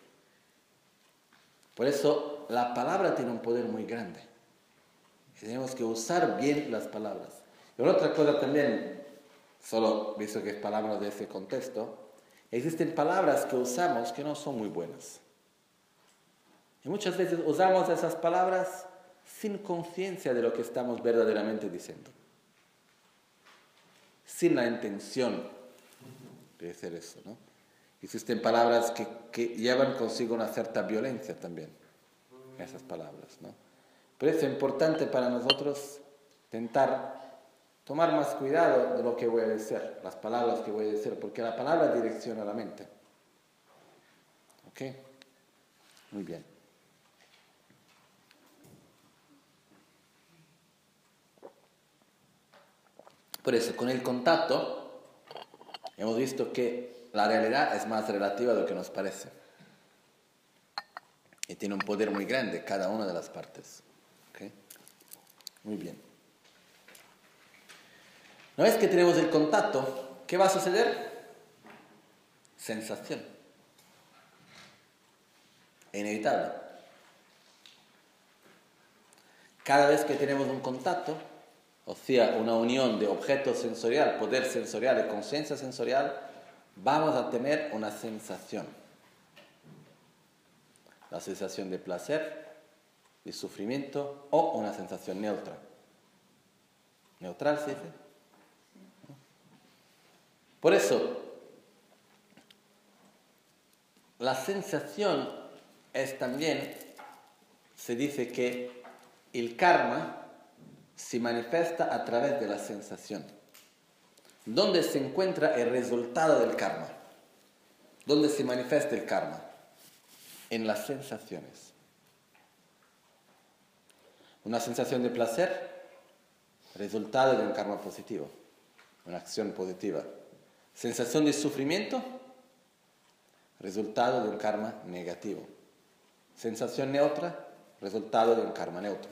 Por eso, la palabra tiene un poder muy grande. Y tenemos que usar bien las palabras. Y otra cosa también, solo visto que es palabras de ese contexto, existen palabras que usamos que no son muy buenas. Y muchas veces usamos esas palabras sin conciencia de lo que estamos verdaderamente diciendo. Sin la intención de decir eso, ¿no? Existen palabras que, que llevan consigo una cierta violencia también. Esas palabras, ¿no? Por eso es importante para nosotros intentar tomar más cuidado de lo que voy a decir, las palabras que voy a decir, porque la palabra direcciona la mente. ¿Ok? Muy bien. Por eso, con el contacto, hemos visto que la realidad es más relativa de lo que nos parece. Y tiene un poder muy grande cada una de las partes. ¿Okay? Muy bien. Una vez que tenemos el contacto, ¿qué va a suceder? Sensación. Es inevitable. Cada vez que tenemos un contacto, o sea, una unión de objeto sensorial, poder sensorial y conciencia sensorial, vamos a tener una sensación. La sensación de placer, de sufrimiento o una sensación neutra. ¿Neutral se dice? Por eso, la sensación es también, se dice que el karma se manifiesta a través de la sensación. ¿Dónde se encuentra el resultado del karma? ¿Dónde se manifiesta el karma? En las sensaciones. Una sensación de placer, resultado de un karma positivo, una acción positiva. Sensación de sufrimiento, resultado de un karma negativo. Sensación neutra, resultado de un karma neutro.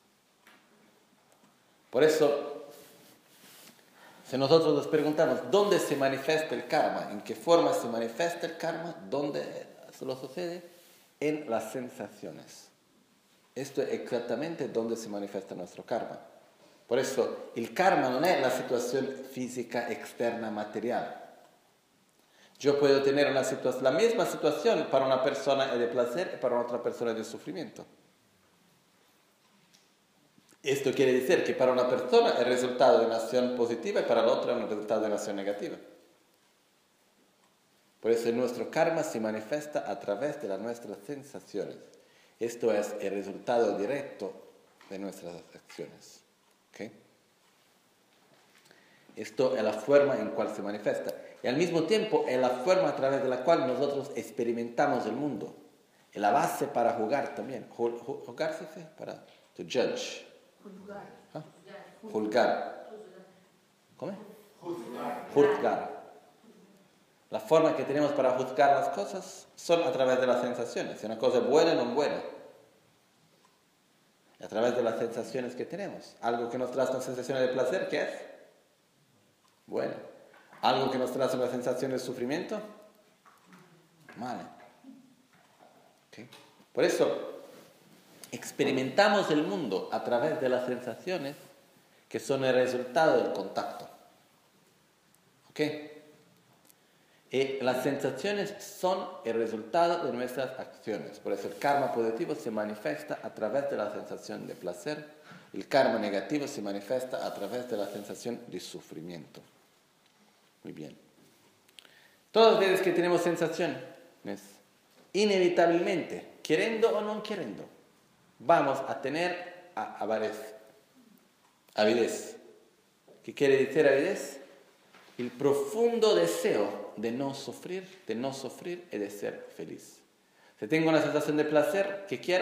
Por eso, si nosotros nos preguntamos dónde se manifiesta el karma, en qué forma se manifiesta el karma, dónde se lo sucede, en las sensaciones. Esto es exactamente donde se manifiesta nuestro karma. Por eso, el karma no es la situación física externa material. Yo puedo tener una situación, la misma situación para una persona es de placer y para otra persona es de sufrimiento. Esto quiere decir que para una persona es el resultado de una acción positiva y para la otra es el resultado de una acción negativa. Por eso nuestro karma se manifiesta a través de las nuestras sensaciones. Esto es el resultado directo de nuestras acciones. ¿Okay? Esto es la forma en cual se manifiesta. Y al mismo tiempo es la forma a través de la cual nosotros experimentamos el mundo. Es la base para jugar también. ¿Jugar se dice? Para to judge. Juzgar. ¿Ah? Juzgar. ¿Cómo? Juzgar. Juzgar. La forma que tenemos para juzgar las cosas son a través de las sensaciones. Si una cosa es buena o no es buena. A través de las sensaciones que tenemos. Algo que nos trae una sensación de placer, ¿qué es? Bueno. Algo que nos trae una sensación de sufrimiento, mal. ¿Okay? Por eso, experimentamos el mundo a través de las sensaciones que son el resultado del contacto. ¿Ok? Y las sensaciones son el resultado de nuestras acciones. Por eso el karma positivo se manifiesta a través de la sensación de placer. El karma negativo se manifiesta a través de la sensación de sufrimiento. Muy bien. Todas las veces que tenemos sensaciones, inevitablemente, queriendo o no queriendo, vamos a tener avidez. Avidez. ¿Qué quiere decir avidez? El profundo deseo de no sufrir, de no sufrir y de ser feliz. Si tengo una sensación de placer, ¿qué quiero?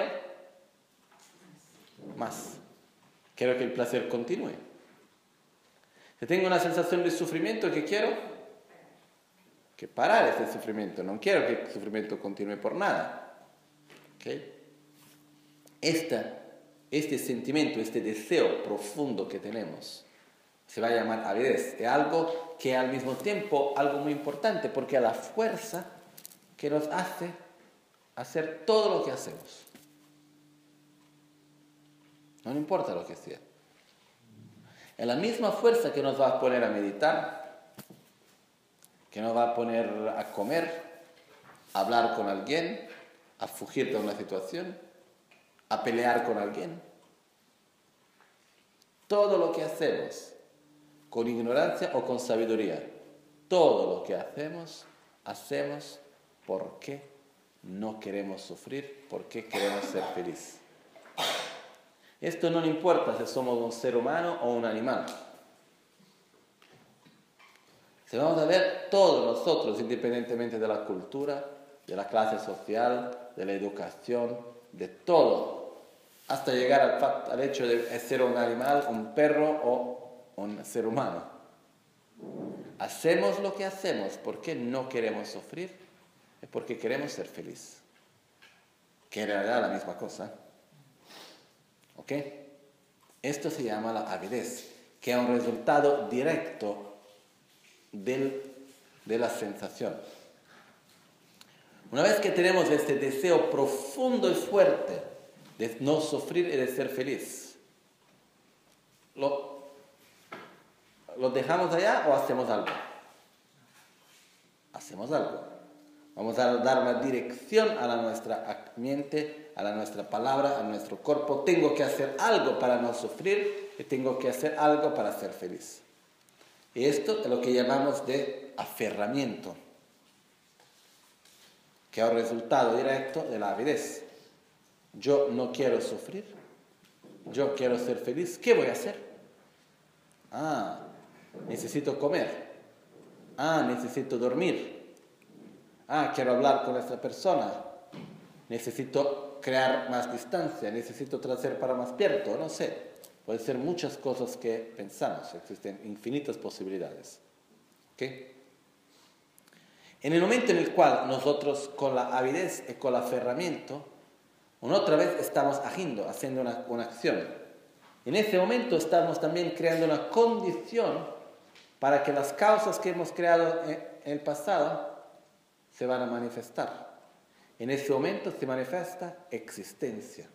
Más. Quiero que el placer continúe. Si tengo una sensación de sufrimiento, ¿qué quiero? Que parar ese sufrimiento. No quiero que el sufrimiento continúe por nada. ¿Okay? Esta, este sentimiento, este deseo profundo que tenemos, se va a llamar avidez. Es algo que al mismo tiempo, algo muy importante, porque es la fuerza que nos hace hacer todo lo que hacemos. No importa lo que sea. Es la misma fuerza que nos va a poner a meditar, que nos va a poner a comer, a hablar con alguien, a fugir de una situación, a pelear con alguien. Todo lo que hacemos, con ignorancia o con sabiduría, todo lo que hacemos, hacemos porque no queremos sufrir, porque queremos ser felices. Esto no importa si somos un ser humano o un animal. Si vamos a ver, todos nosotros, independientemente de la cultura, de la clase social, de la educación, de todo, hasta llegar al, fact, al hecho de ser un animal, un perro o un ser humano. Hacemos lo que hacemos porque no queremos sufrir y porque queremos ser felices. Que en realidad es la misma cosa. ¿Ok? Esto se llama la avidez, que es un resultado directo del, de la sensación. Una vez que tenemos este deseo profundo y fuerte de no sufrir y de ser feliz, ¿lo, lo dejamos allá o hacemos algo? Hacemos algo. Vamos a dar una dirección a la nuestra mente, a la nuestra palabra, a nuestro cuerpo. Tengo que hacer algo para no sufrir y tengo que hacer algo para ser feliz. Y esto es lo que llamamos de aferramiento, que es el resultado directo de la avidez. Yo no quiero sufrir, yo quiero ser feliz. ¿Qué voy a hacer? Ah, necesito comer. Ah, necesito dormir. Ah, quiero hablar con esta persona. Necesito crear más distancia. Necesito traer para más pierto. No sé. Puede ser muchas cosas que pensamos. Existen infinitas posibilidades. ¿Okay? En el momento en el cual nosotros con la avidez y con el aferramiento, una otra vez estamos agiendo, haciendo una, una acción. En ese momento estamos también creando una condición para que las causas que hemos creado en el pasado se van a manifestar. En ese momento se manifiesta existencia.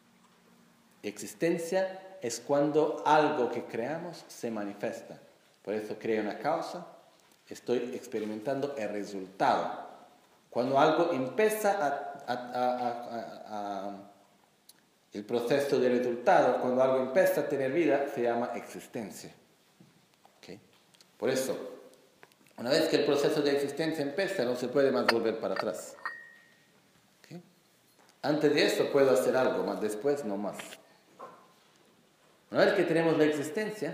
Existencia es cuando algo que creamos se manifiesta. Por eso creo una causa, estoy experimentando el resultado. Cuando algo empieza a, a, a, a, a, el proceso de resultado, cuando algo empieza a tener vida, se llama existencia. ¿Okay? Por eso, una vez que el proceso de existencia empieza, no se puede más volver para atrás. ¿Okay? Antes de eso puedo hacer algo, más después no más. Una vez que tenemos la existencia,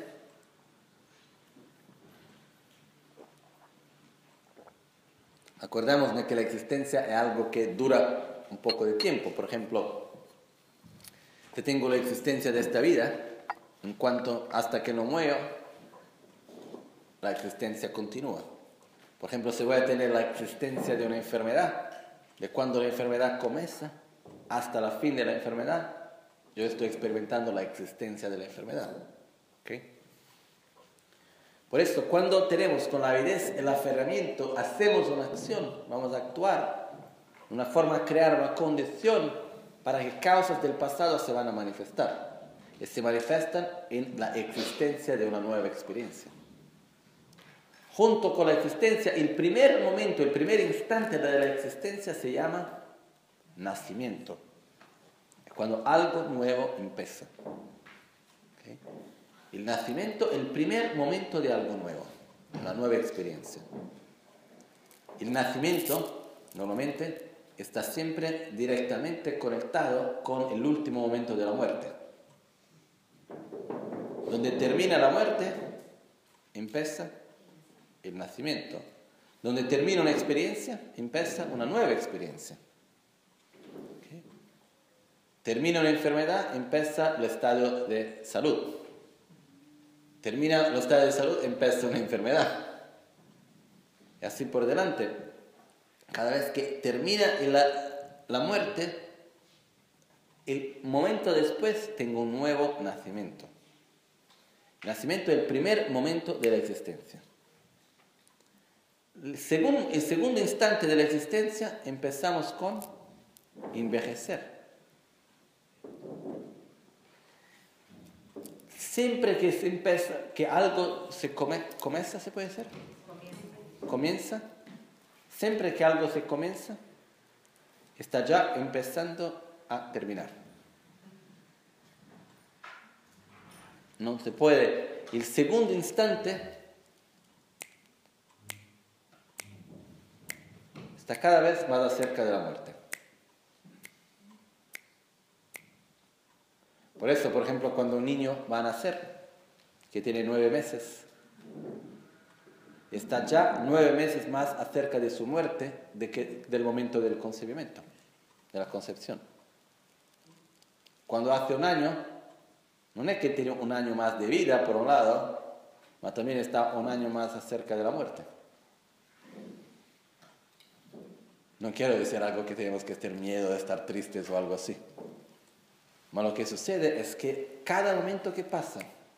acordamos de que la existencia es algo que dura un poco de tiempo. Por ejemplo, si tengo la existencia de esta vida, en cuanto hasta que no muero, la existencia continúa. Por ejemplo, si voy a tener la existencia de una enfermedad, de cuando la enfermedad comienza hasta el fin de la enfermedad, yo estoy experimentando la existencia de la enfermedad. ¿Okay? Por eso, cuando tenemos con la avidez el aferramiento, hacemos una acción, vamos a actuar, de una forma a crear una condición para que causas del pasado se van a manifestar. Y se manifiestan en la existencia de una nueva experiencia. Junto con la existencia, el primer momento, el primer instante de la existencia se llama nacimiento. Es cuando algo nuevo empieza. ¿Okay? El nacimiento, el primer momento de algo nuevo, una nueva experiencia. El nacimiento, normalmente, está siempre directamente conectado con el último momento de la muerte. Donde termina la muerte, empieza el nacimiento. Donde termina una experiencia, empieza una nueva experiencia. ¿Okay? Termina una enfermedad, empieza el estado de salud. Termina el estado de salud, empieza una enfermedad. Y así por delante. Cada vez que termina la, la muerte, el momento después tengo un nuevo nacimiento. El nacimiento es el primer momento de la existencia. Según el segundo instante de la existencia, empezamos con envejecer. Siempre que se empieza, que algo se come, comienza, ¿se puede decir? Comienza. Comienza. Siempre que algo se comienza, está ya empezando a terminar. No se puede. El segundo instante está cada vez más cerca de la muerte. Por eso, por ejemplo, cuando un niño va a nacer, que tiene nueve meses, está ya nueve meses más acerca de su muerte de que, del momento del concebimiento, de la concepción. Cuando hace un año, no es que tiene un año más de vida, por un lado, pero también está un año más acerca de la muerte. No quiero decir algo que tenemos que tener miedo de estar tristes o algo así. Pero lo que sucede es que cada momento que pasa,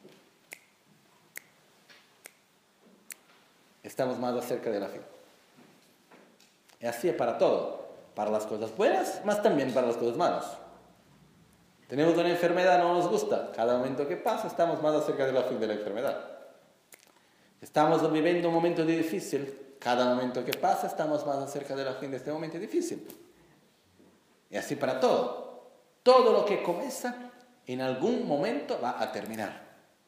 estamos más cerca de la fin. Y así es para todo. Para las cosas buenas, más también para las cosas malas. Tenemos una enfermedad, no nos gusta. Cada momento que pasa, estamos más cerca de la fin de la enfermedad. Estamos viviendo un momento difícil. Cada momento que pasa, estamos más cerca de la fin de este momento difícil. Y así para todo. Todo lo que comienza, en algún momento va a terminar.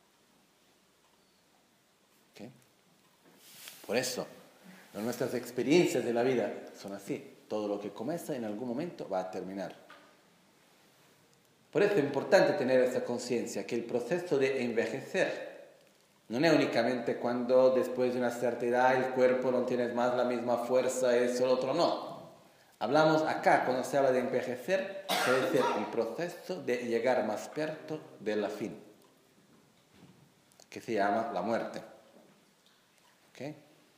¿Okay? Por eso, nuestras experiencias de la vida son así. Todo lo que comienza, en algún momento va a terminar. Por eso es importante tener esa conciencia, que el proceso de envejecer no es únicamente cuando después de una cierta edad el cuerpo no tiene más la misma fuerza, eso, el otro no. Hablamos acá, cuando se habla de envejecer, quiere decir el proceso de llegar más cerca de la fin, que se llama la muerte. ¿Okay?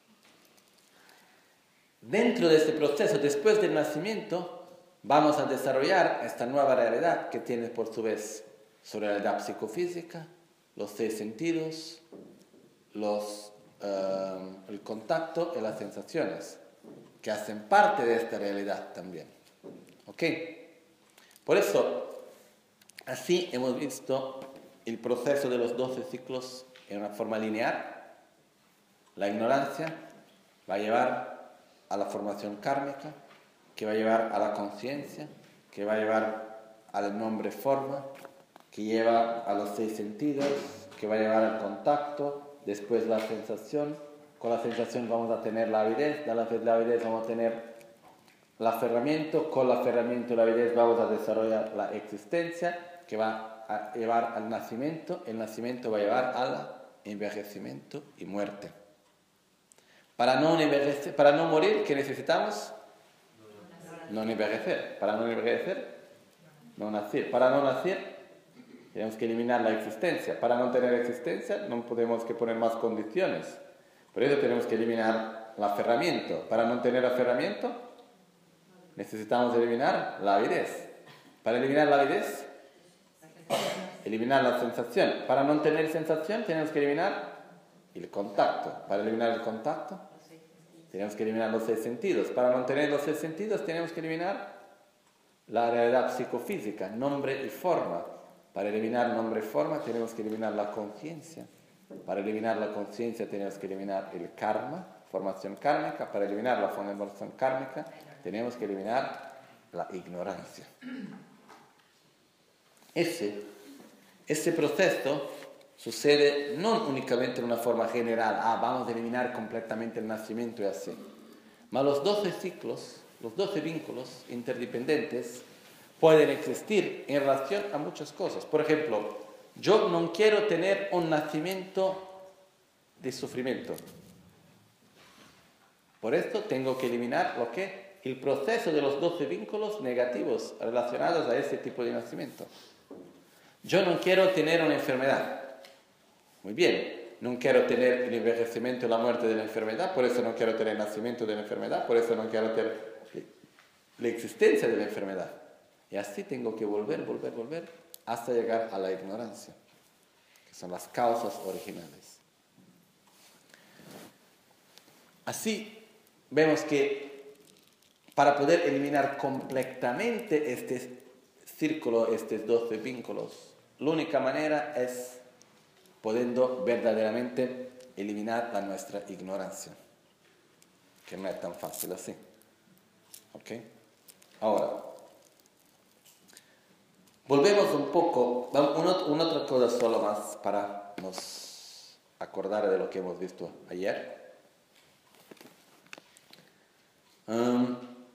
Dentro de este proceso, después del nacimiento, vamos a desarrollar esta nueva realidad que tiene por su vez sobre la realidad psicofísica, los seis sentidos, los, uh, el contacto y las sensaciones, que hacen parte de esta realidad también. ¿Ok? Por eso, así hemos visto el proceso de los doce ciclos en una forma lineal. La ignorancia va a llevar a la formación kármica, que va a llevar a la conciencia, que va a llevar al nombre forma, que lleva a los seis sentidos, que va a llevar al contacto, después la sensación. Con la sensación vamos a tener la avidez, de la, la avidez vamos a tener el aferramiento, con el aferramiento y la avidez vamos a desarrollar la existencia, que va a llevar al nacimiento, el nacimiento va a llevar al envejecimiento y muerte. Para no, envejecer, para no morir, ¿qué necesitamos? No envejecer. Para no envejecer, no nacer. Para no nacer, tenemos que eliminar la existencia. Para no tener existencia, no podemos que poner más condiciones. Por eso tenemos que eliminar el aferramiento. Para no tener aferramiento, necesitamos eliminar la avidez. Para eliminar la avidez, eliminar la sensación. Para no tener sensación tenemos que eliminar el contacto. Para eliminar el contacto tenemos que eliminar los seis sentidos. Para no tener los seis sentidos tenemos que eliminar la realidad psicofísica, nombre y forma. Para eliminar nombre y forma tenemos que eliminar la conciencia. Para eliminar la conciencia tenemos que eliminar el karma, formación kármica. Para eliminar la formación kármica tenemos que eliminar la ignorancia. Ese, ese proceso sucede no únicamente en una forma general, ah, vamos a eliminar completamente el nacimiento y así. Mas los doce ciclos, los doce vínculos interdependientes pueden existir en relación a muchas cosas. Por ejemplo, yo no quiero tener un nacimiento de sufrimiento. Por esto tengo que eliminar lo que el proceso de los doce vínculos negativos relacionados a ese tipo de nacimiento. Yo no quiero tener una enfermedad. Muy bien, no quiero tener el envejecimiento y la muerte de la enfermedad, por eso no quiero tener el nacimiento de la enfermedad, por eso no quiero tener la existencia de la enfermedad. Y así tengo que volver, volver, volver, hasta llegar a la ignorancia, que son las causas originales. Así vemos que para poder eliminar completamente este círculo, estos doce vínculos, la única manera es pudiendo verdaderamente eliminar la nuestra ignorancia, que no es tan fácil así. ¿Ok? Ahora, volvemos un poco, una otra cosa solo más para nos acordar de lo que hemos visto ayer. Um,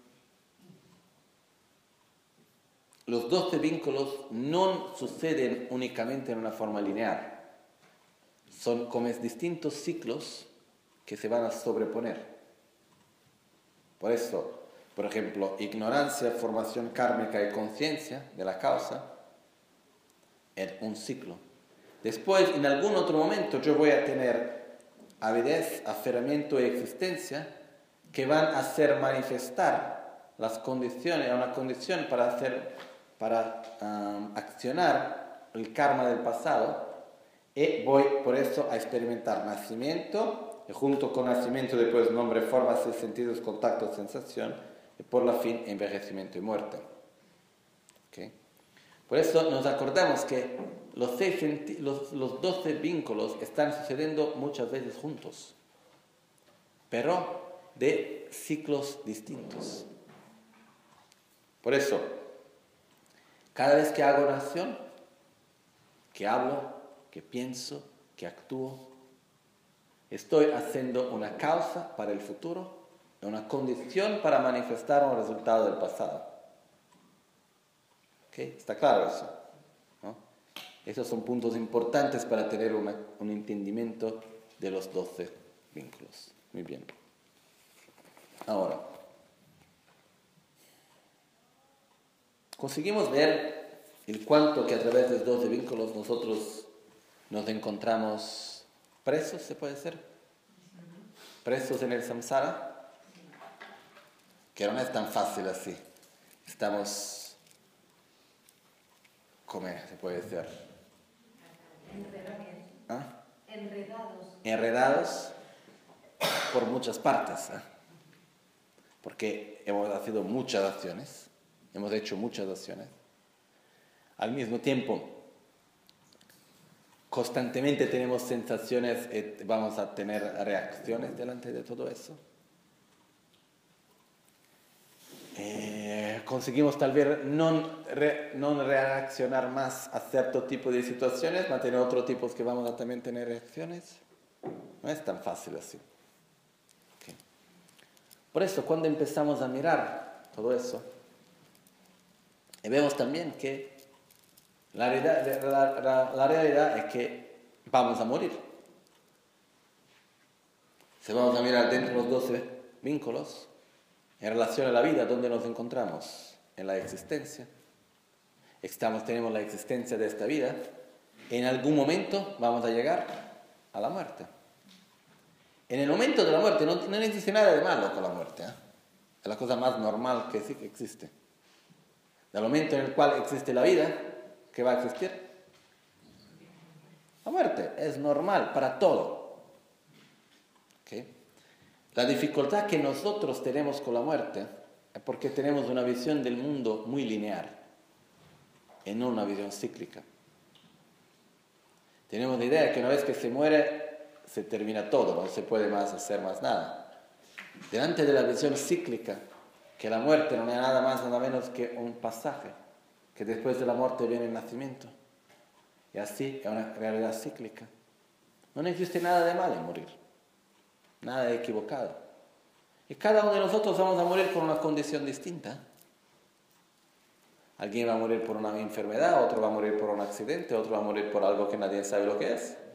los doce vínculos no suceden únicamente en una forma lineal. Son como distintos ciclos que se van a sobreponer. Por eso, por ejemplo, ignorancia, formación kármica y conciencia de la causa es un ciclo. Después, en algún otro momento, yo voy a tener avidez, aferramiento y existencia que van a hacer manifestar las condiciones, una condición para hacer, para um, accionar el karma del pasado. Y voy por eso a experimentar nacimiento, y junto con nacimiento después nombre, forma, seis sentidos, contacto, sensación, y por la fin envejecimiento y muerte. ¿Okay? Por eso nos acordamos que los, seis senti- los, los doce vínculos están sucediendo muchas veces juntos, pero de ciclos distintos. Por eso, cada vez que hago una acción, que hablo, que pienso, que actúo, estoy haciendo una causa para el futuro, una condición para manifestar un resultado del pasado. ¿Okay? ¿Está claro eso? ¿No? Esos son puntos importantes para tener una, un entendimiento de los doce vínculos. Muy bien. Ahora, conseguimos ver el cuánto que a través de los doce vínculos nosotros nos encontramos presos, ¿se puede decir? Presos en el samsara, que no es tan fácil así. Estamos, ¿cómo se puede decir? ¿Ah? Enredados. Enredados por muchas partes, ¿eh? Porque hemos hecho muchas acciones, hemos hecho muchas acciones. Al mismo tiempo, constantemente tenemos sensaciones, eh, vamos a tener reacciones delante de todo eso. Eh, conseguimos tal vez no, re, no reaccionar más a cierto tipo de situaciones, mantener otros tipos que vamos a también tener reacciones. No es tan fácil así. Okay. Por eso, cuando empezamos a mirar todo eso, y vemos también que La realidad, la, la, la realidad es que vamos a morir. Si vamos a mirar dentro de los doce vínculos, en relación a la vida, ¿dónde nos encontramos? En la existencia. Estamos, tenemos la existencia de esta vida. En algún momento vamos a llegar a la muerte. En el momento de la muerte no, no existe nada de malo con la muerte, ¿eh? Es la cosa más normal que existe. Del momento en el cual existe la vida, ¿qué va a existir? La muerte es normal para todo. ¿Okay? La dificultad que nosotros tenemos con la muerte es porque tenemos una visión del mundo muy lineal y no una visión cíclica. Tenemos la idea que una vez que se muere, se termina todo, no se puede más hacer más nada. Delante de la visión cíclica, que la muerte no es nada más, nada menos que un pasaje, que después de la muerte viene el nacimiento. Y así es una realidad cíclica. No existe nada de malo en morir, nada de equivocado. Y cada uno de nosotros vamos a morir con una condición distinta. Alguien va a morir por una enfermedad, otro va a morir por un accidente, otro va a morir por algo que nadie sabe lo que es.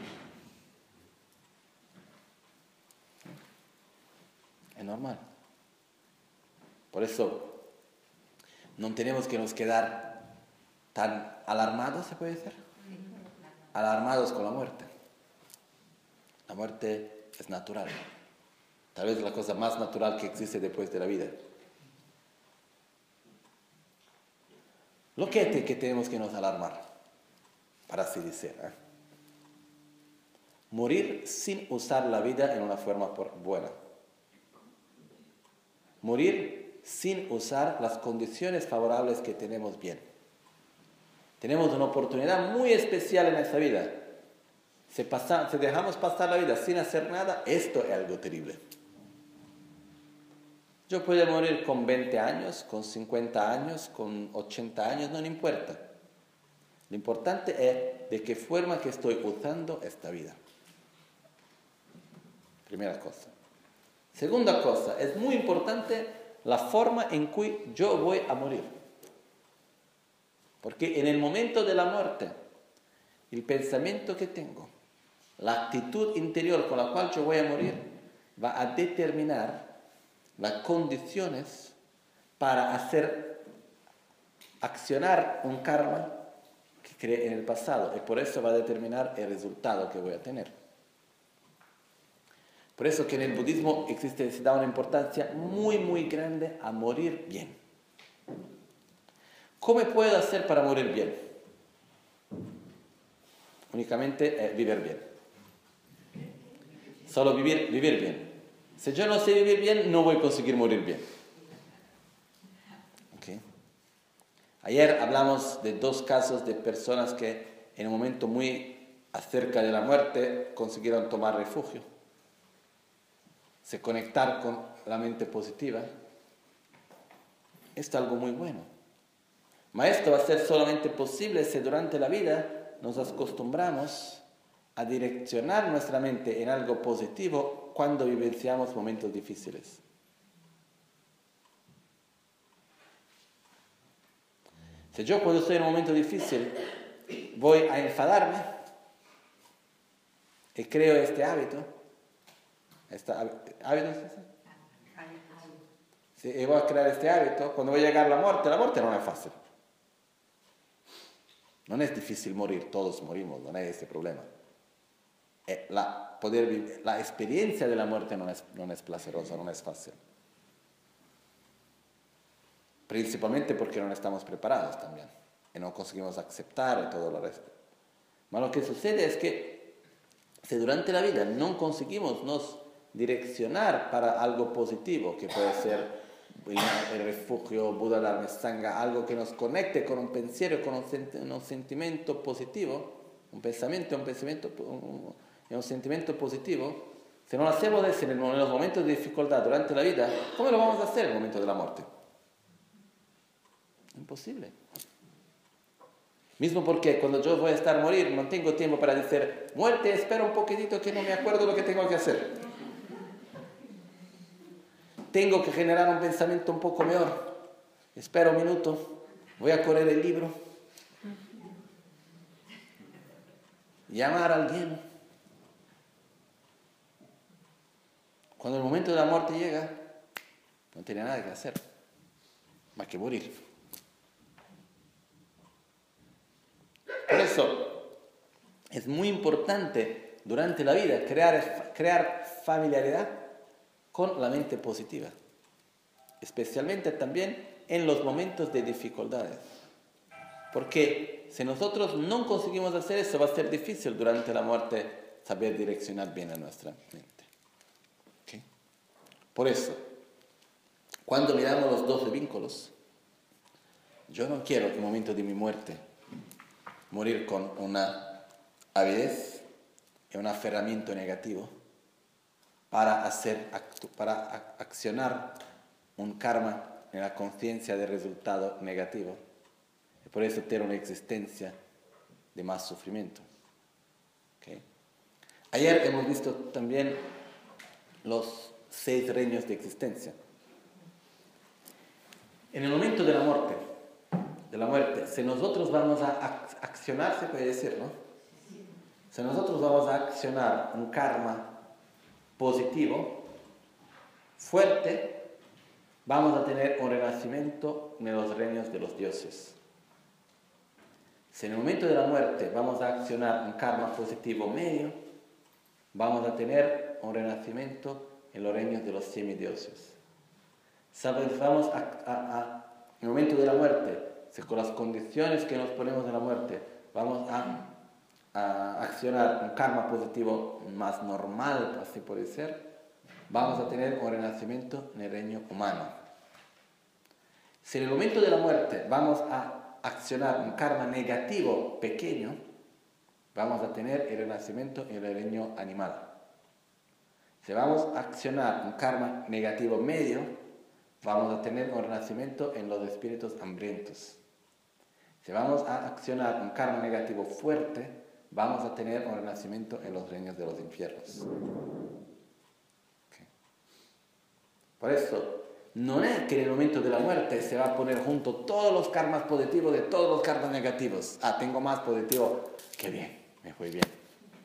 Es normal. Por eso no tenemos que nos quedar tan alarmados, ¿se puede decir? Alarmados con la muerte. La muerte es natural. Tal vez es la cosa más natural que existe después de la vida. Lo que es que tenemos que nos alarmar, para así decir, ¿eh? Morir sin usar la vida en una forma por buena. Morir sin usar las condiciones favorables que tenemos bien. Tenemos una oportunidad muy especial en esta vida. Si, pasa, si dejamos pasar la vida sin hacer nada, esto es algo terrible. Yo puedo morir con veinte años, con cincuenta años, con ochenta años, no me importa. Lo importante es de qué forma que estoy usando esta vida. Primera cosa. Segunda cosa, es muy importante la forma en que yo voy a morir. Porque en el momento de la muerte, el pensamiento que tengo, la actitud interior con la cual yo voy a morir, va a determinar las condiciones para hacer accionar un karma que creé en el pasado, y por eso va a determinar el resultado que voy a tener. Por eso que en el budismo existe, se da una importancia muy muy grande a morir bien. ¿Cómo puedo hacer para morir bien? Únicamente eh, vivir bien. Solo vivir, vivir bien. Si yo no sé vivir bien, no voy a conseguir morir bien. ¿Okay? Ayer hablamos de dos casos de personas que en un momento muy acerca de la muerte consiguieron tomar refugio. Se conectar con la mente positiva. Esto es algo muy bueno. Pero esto va a ser solamente posible si durante la vida nos acostumbramos a direccionar nuestra mente en algo positivo cuando vivenciamos momentos difíciles. Si yo cuando estoy en un momento difícil voy a enfadarme y creo este hábito, este hábito es ese? Si voy a crear este hábito, cuando voy a llegar a la muerte, la muerte no es fácil. No es difícil morir, todos morimos, no es ese problema. La, poder vivir, la experiencia de la muerte no es, no es placerosa, no es fácil. Principalmente porque no estamos preparados también. Y no conseguimos aceptar y todo lo resto. Pero lo que sucede es que si durante la vida no conseguimos nos direccionar para algo positivo, que puede ser el, el refugio, Buda Dharma Sangha, algo que nos conecte con un pensiero, con un, sent, un sentimiento positivo, un pensamiento, un pensamiento, un, un sentimiento positivo, si no lo hacemos en, el, en los momentos de dificultad durante la vida, ¿cómo lo vamos a hacer en el momento de la muerte? Imposible. Mismo porque cuando yo voy a estar a morir, no tengo tiempo para decir, muerte, espera un poquitito que no me acuerdo lo que tengo que hacer. Tengo que generar un pensamiento un poco mejor. Espera un minuto, voy a correr el libro. Llamar a alguien. Cuando el momento de la muerte llega, no tiene nada que hacer, más que morir. Por eso es muy importante durante la vida crear, crear familiaridad con la mente positiva, especialmente también en los momentos de dificultades. Porque si nosotros no conseguimos hacer eso, va a ser difícil durante la muerte saber direccionar bien a nuestra mente. ¿Okay? Por eso, cuando miramos los doce vínculos, yo no quiero en el momento de mi muerte morir con una avidez y un aferramiento negativo para, hacer, para accionar un karma en la conciencia de resultado negativo. Y por eso tener una existencia de más sufrimiento. ¿Okay? Ayer hemos visto también los seis reinos de existencia. En el momento de la muerte, de la muerte, si nosotros vamos a accionar, se puede decir, ¿no? Si nosotros vamos a accionar un karma positivo, fuerte, vamos a tener un renacimiento en los reinos de los dioses. Si en el momento de la muerte vamos a accionar un karma positivo medio, vamos a tener un renacimiento en los reinos de los semidioses. ¿Sabes? Vamos a, a, a, en el momento de la muerte, si con las condiciones que nos ponemos en la muerte, vamos a, a accionar un karma positivo más normal, así puede ser, vamos a tener un renacimiento en el reino humano. Si en el momento de la muerte vamos a accionar un karma negativo pequeño, vamos a tener el renacimiento en el reino animal. Si vamos a accionar un karma negativo medio, vamos a tener un renacimiento en los espíritus hambrientos. Si vamos a accionar un karma negativo fuerte, vamos a tener un renacimiento en los reinos de los infiernos. Okay. Por eso, no es que en el momento de la muerte se va a poner junto todos los karmas positivos de todos los karmas negativos. Ah, tengo más positivo. Qué bien, me fue bien.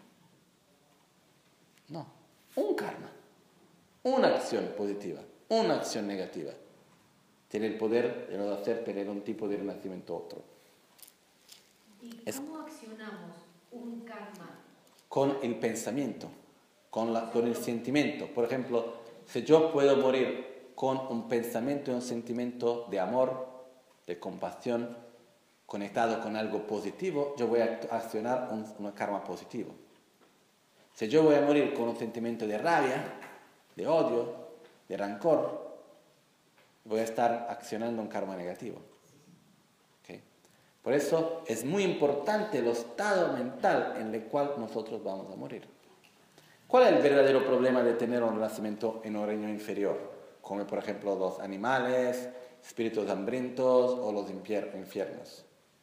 No, un karma, una acción positiva, una acción negativa, tiene el poder de nos hacer tener un tipo de renacimiento otro. ¿Y cómo es, accionamos un karma? Con el pensamiento, con, la, con el sentimiento. Por ejemplo, si yo puedo morir con un pensamiento y un sentimiento de amor, de compasión, conectado con algo positivo, yo voy a accionar un, un karma positivo. Si yo voy a morir con un sentimiento de rabia, de odio, de rancor, voy a estar accionando un karma negativo. ¿Okay? Por eso es muy importante el estado mental en el cual nosotros vamos a morir. ¿Cuál es el verdadero problema de tener un renacimiento en un reino inferior? Como por ejemplo los animales, espíritus hambrientos o los infiernos.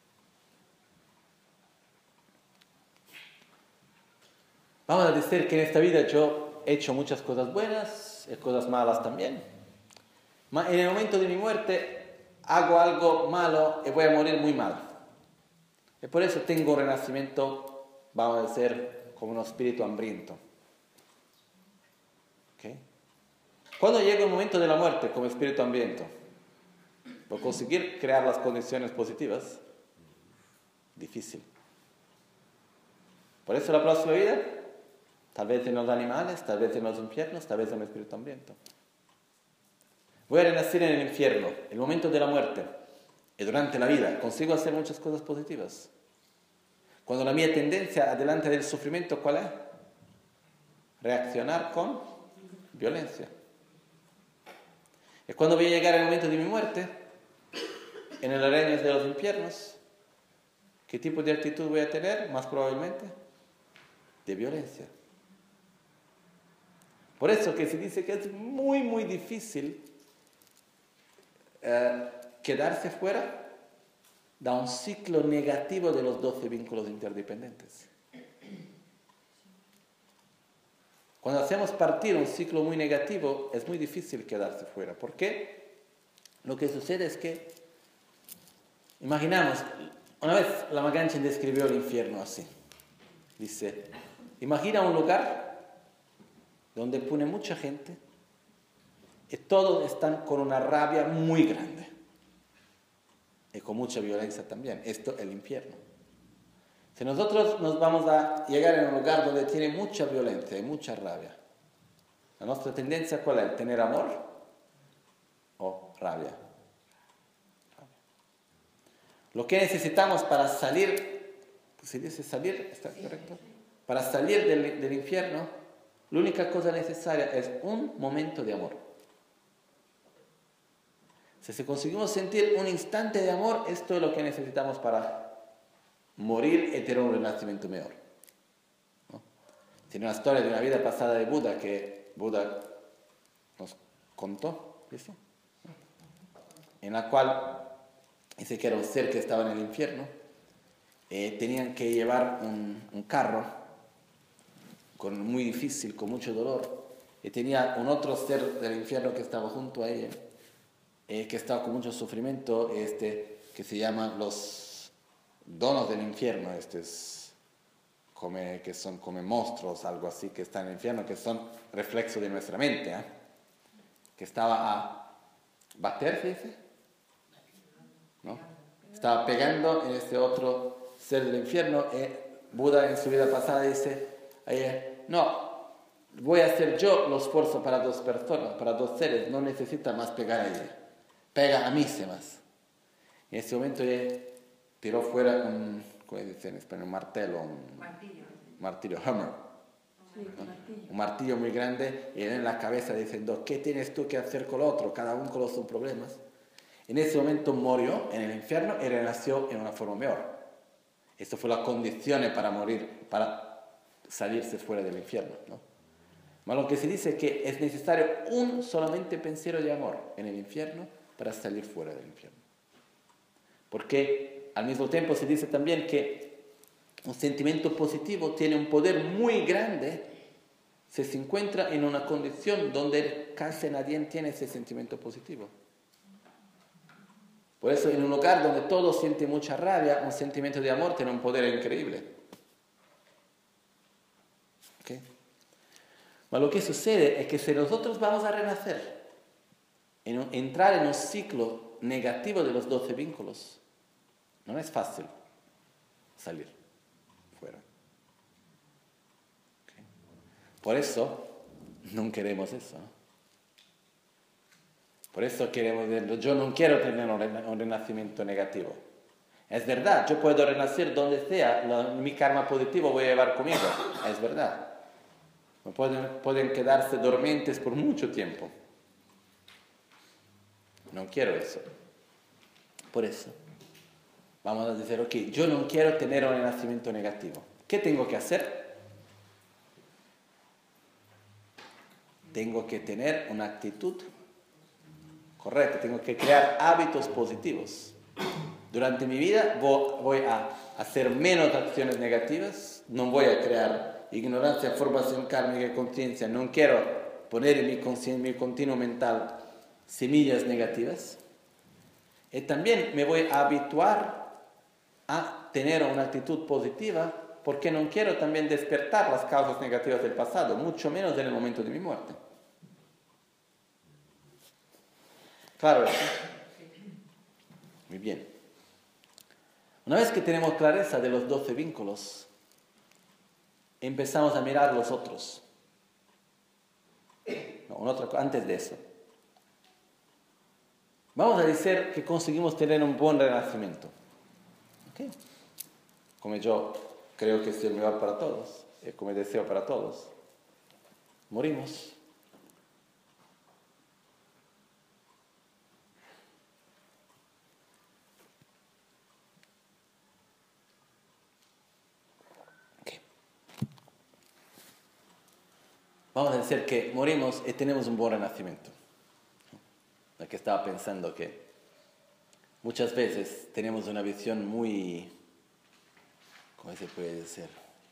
Vamos a decir que en esta vida yo he hecho muchas cosas buenas y cosas malas también. Pero en el momento de mi muerte hago algo malo y voy a morir muy mal. Y por eso tengo un renacimiento, vamos a decir, como un espíritu hambriento. ¿Okay? Cuando llega el momento de la muerte como espíritu hambriento, por conseguir crear las condiciones positivas, difícil. Por eso la próxima vida, tal vez en los animales, tal vez en los infiernos, tal vez en el espíritu hambriento. Voy a renacer en el infierno, el momento de la muerte, y durante la vida consigo hacer muchas cosas positivas. Cuando la mía tendencia adelante del sufrimiento, ¿cuál es? Reaccionar con violencia. Y cuando voy a llegar el momento de mi muerte, en el reino de los infiernos, ¿qué tipo de actitud voy a tener? Más probablemente, de violencia. Por eso que se dice que es muy, muy difícil eh, quedarse fuera de un ciclo negativo de los doce vínculos interdependientes. Cuando hacemos partir un ciclo muy negativo, es muy difícil quedarse fuera. ¿Por qué? Lo que sucede es que, imaginamos, una vez la Maganchen describió el infierno así. Dice, imagina un lugar donde pone mucha gente y todos están con una rabia muy grande y con mucha violencia también. Esto es el infierno. Si nosotros nos vamos a llegar en un lugar donde tiene mucha violencia y mucha rabia, la nuestra tendencia ¿cuál es? ¿Tener amor o rabia? Lo que necesitamos para salir, ¿se dice salir? ¿Está correcto? Para salir del, del infierno, la única cosa necesaria es un momento de amor. Si conseguimos sentir un instante de amor, esto es lo que necesitamos para morir y tener un renacimiento mejor. ¿No? Tiene una historia de una vida pasada de Buda que Buda nos contó, ¿sí? En la cual dice que era un ser que estaba en el infierno. Eh, tenían que llevar un, un carro con, muy difícil, con mucho dolor. Y tenía un otro ser del infierno que estaba junto a ella. Eh, que estaba con mucho sufrimiento, este, que se llaman los donos del infierno, este es, come, que son como monstruos, algo así, que están en el infierno, que son reflexos de nuestra mente, ¿eh? Que estaba a bater, ¿se dice? ¿No? Estaba pegando en este otro ser del infierno, y Buda en su vida pasada dice, eh, no, voy a hacer yo los esfuerzos para dos personas, para dos seres, no necesita más pegar a ella. Pega a mí se más. En ese momento ella tiró fuera un, ¿cómo dice en español? Un martelo, un martillo, martillo hammer. Sí, ¿no? martillo. Un martillo muy grande y en la cabeza diciendo, ¿qué tienes tú que hacer con el otro? Cada uno con los sus problemas. En ese momento murió en el infierno y renació en una forma mejor. Esto fue la condición para morir, para salirse fuera del infierno, ¿no? Pero lo que se dice es que es necesario un solamente pensiero de amor en el infierno para salir fuera del infierno. Porque al mismo tiempo se dice también que un sentimiento positivo tiene un poder muy grande si se encuentra en una condición donde casi nadie tiene ese sentimiento positivo. Por eso en un lugar donde todos sienten mucha rabia, un sentimiento de amor tiene un poder increíble. ¿Okay? Pero lo que sucede es que si nosotros vamos a renacer, en un, entrar en un ciclo negativo de los doce vínculos, no es fácil salir fuera. ¿Okay? Por eso no queremos eso, ¿no? Por eso queremos, yo no quiero tener un renacimiento negativo. Es verdad, yo puedo renacer donde sea, lo, mi karma positivo voy a llevar conmigo, es verdad. Pueden, pueden quedarse dormientes por mucho tiempo. No quiero eso. Por eso, vamos a decir, ok, yo no quiero tener un renacimiento negativo. ¿Qué tengo que hacer? Tengo que tener una actitud correcta, tengo que crear hábitos positivos. Durante mi vida voy a hacer menos acciones negativas, no voy a crear ignorancia, formación kármica y conciencia, no quiero poner en mi, en mi continuo mental semillas negativas. Y también me voy a habituar a tener una actitud positiva porque no quiero también despertar las causas negativas del pasado, mucho menos en el momento de mi muerte. Claro. Muy bien. Una vez que tenemos clareza de los doce vínculos, empezamos a mirar los otros. No, un otro, antes de eso. Vamos a decir que conseguimos tener un buen renacimiento. ¿Okay? Como yo creo que es el mejor para todos, y como deseo para todos. Morimos. Okay. Vamos a decir que morimos y tenemos un buen renacimiento. La que estaba pensando que muchas veces tenemos una visión muy, ¿cómo se puede decir?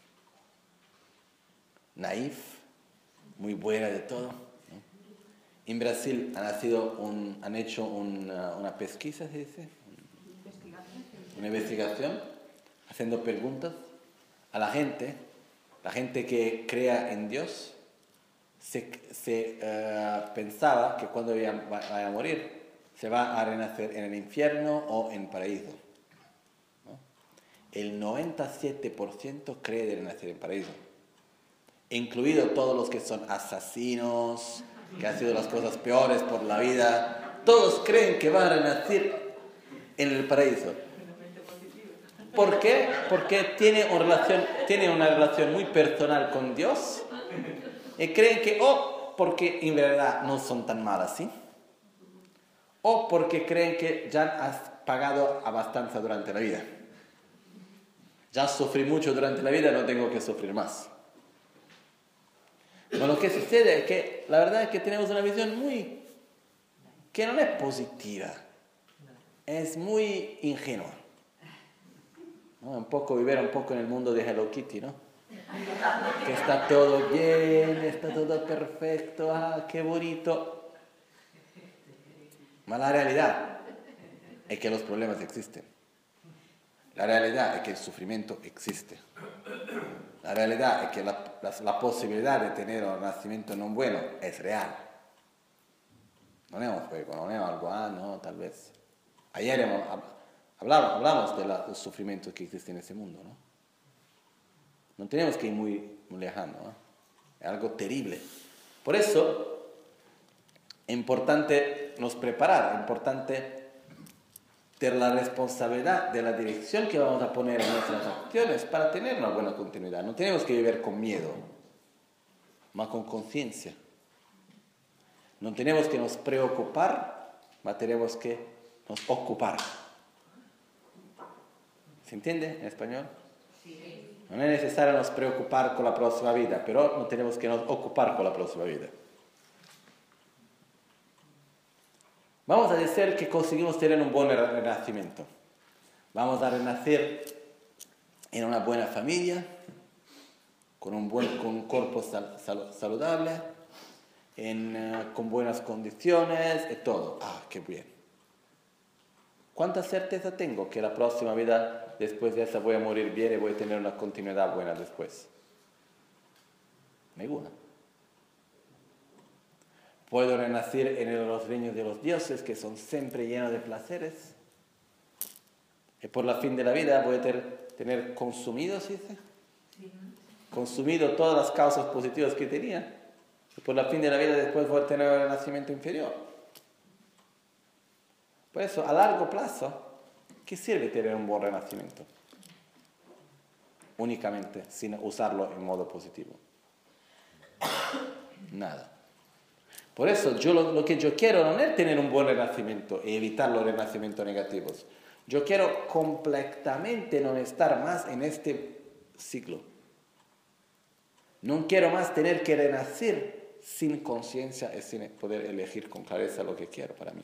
Naif, muy buena de todo, ¿no? En Brasil han, nacido un, han hecho una, una pesquisa, ¿se dice? Una investigación, haciendo preguntas a la gente, la gente que crea en Dios. Se, se uh, pensaba que cuando vaya, vaya a morir se va a renacer en el infierno o en el paraíso, ¿no? El noventa y siete por ciento cree de renacer en el paraíso, incluido todos los que son asesinos, que han sido las cosas peores por la vida. Todos creen que van a renacer en el paraíso. ¿Por qué? Porque tiene una relación, tiene una relación muy personal con Dios y creen que o porque en verdad no son tan malas, ¿sí? O porque creen que ya has pagado a bastante durante la vida. Ya sufrí mucho durante la vida, no tengo que sufrir más. Pero lo que sucede es que la verdad es que tenemos una visión muy, que no es positiva, es muy ingenua. ¿No? Un poco vivir un poco en el mundo de Hello Kitty, ¿no? Que está todo bien, está todo perfecto, ah, qué bonito. Ma la realidad es que los problemas existen. La realidad es que el sufrimiento existe. La realidad es que la, la, la posibilidad de tener un nacimiento no bueno es real. No es un juego, no es algo, ah, no, tal vez. Ayer hemos, hablamos, hablamos de la, del sufrimiento que existe en este mundo, ¿no? No tenemos que ir muy, muy lejano, ¿no? Es algo terrible. Por eso es importante nos preparar, es importante tener la responsabilidad de la dirección que vamos a poner en nuestras acciones para tener una buena continuidad. No tenemos que vivir con miedo, mas con conciencia. No tenemos que nos preocupar, mas tenemos que nos ocupar. ¿Se entiende en español? Sí. No es necesario nos preocupar con la próxima vida, pero no tenemos que nos ocupar con la próxima vida. Vamos a decir que conseguimos tener un buen renacimiento. Vamos a renacer en una buena familia, con un buen con un cuerpo sal, sal, saludable, en, uh, con buenas condiciones y todo. Ah, qué bien. ¿Cuánta certeza tengo que la próxima vida, después de esa, voy a morir bien y voy a tener una continuidad buena después? Ninguna. Puedo renacer en los reinos de los dioses, que son siempre llenos de placeres. Y por la fin de la vida voy a ter, tener consumido, ¿sí dice? Sí. Consumido todas las causas positivas que tenía. Y por la fin de la vida después voy a tener un renacimiento inferior. Por eso, a largo plazo, ¿qué sirve tener un buen renacimiento? Únicamente, sin usarlo en modo positivo. Nada. Por eso yo lo, lo que yo quiero no es tener un buen renacimiento y evitar los renacimientos negativos. Yo quiero completamente no estar más en este ciclo. No quiero más tener que renacer sin conciencia y sin poder elegir con clareza lo que quiero para mí.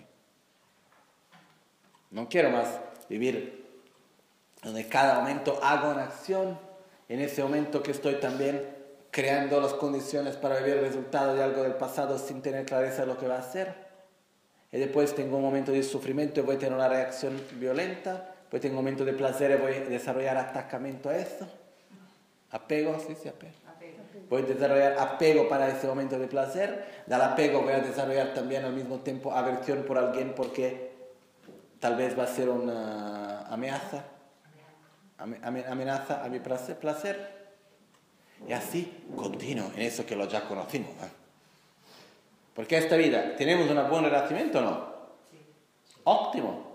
No quiero más vivir donde cada momento hago una acción, en ese momento que estoy también creando las condiciones para vivir el resultado de algo del pasado sin tener clareza de lo que va a hacer. Y después tengo un momento de sufrimiento y voy a tener una reacción violenta. Después tengo un momento de placer y voy a desarrollar atacamiento a eso. Apego, sí, sí, apego. apego. Voy a desarrollar apego para ese momento de placer. Del apego voy a desarrollar también al mismo tiempo aversión por alguien porque tal vez va a ser una amenaza. Amenaza a mi placer. Y así continuo en eso que lo ya conocimos. ¿eh? Porque esta vida, ¿tenemos un buen renacimiento o no? Sí. Óptimo.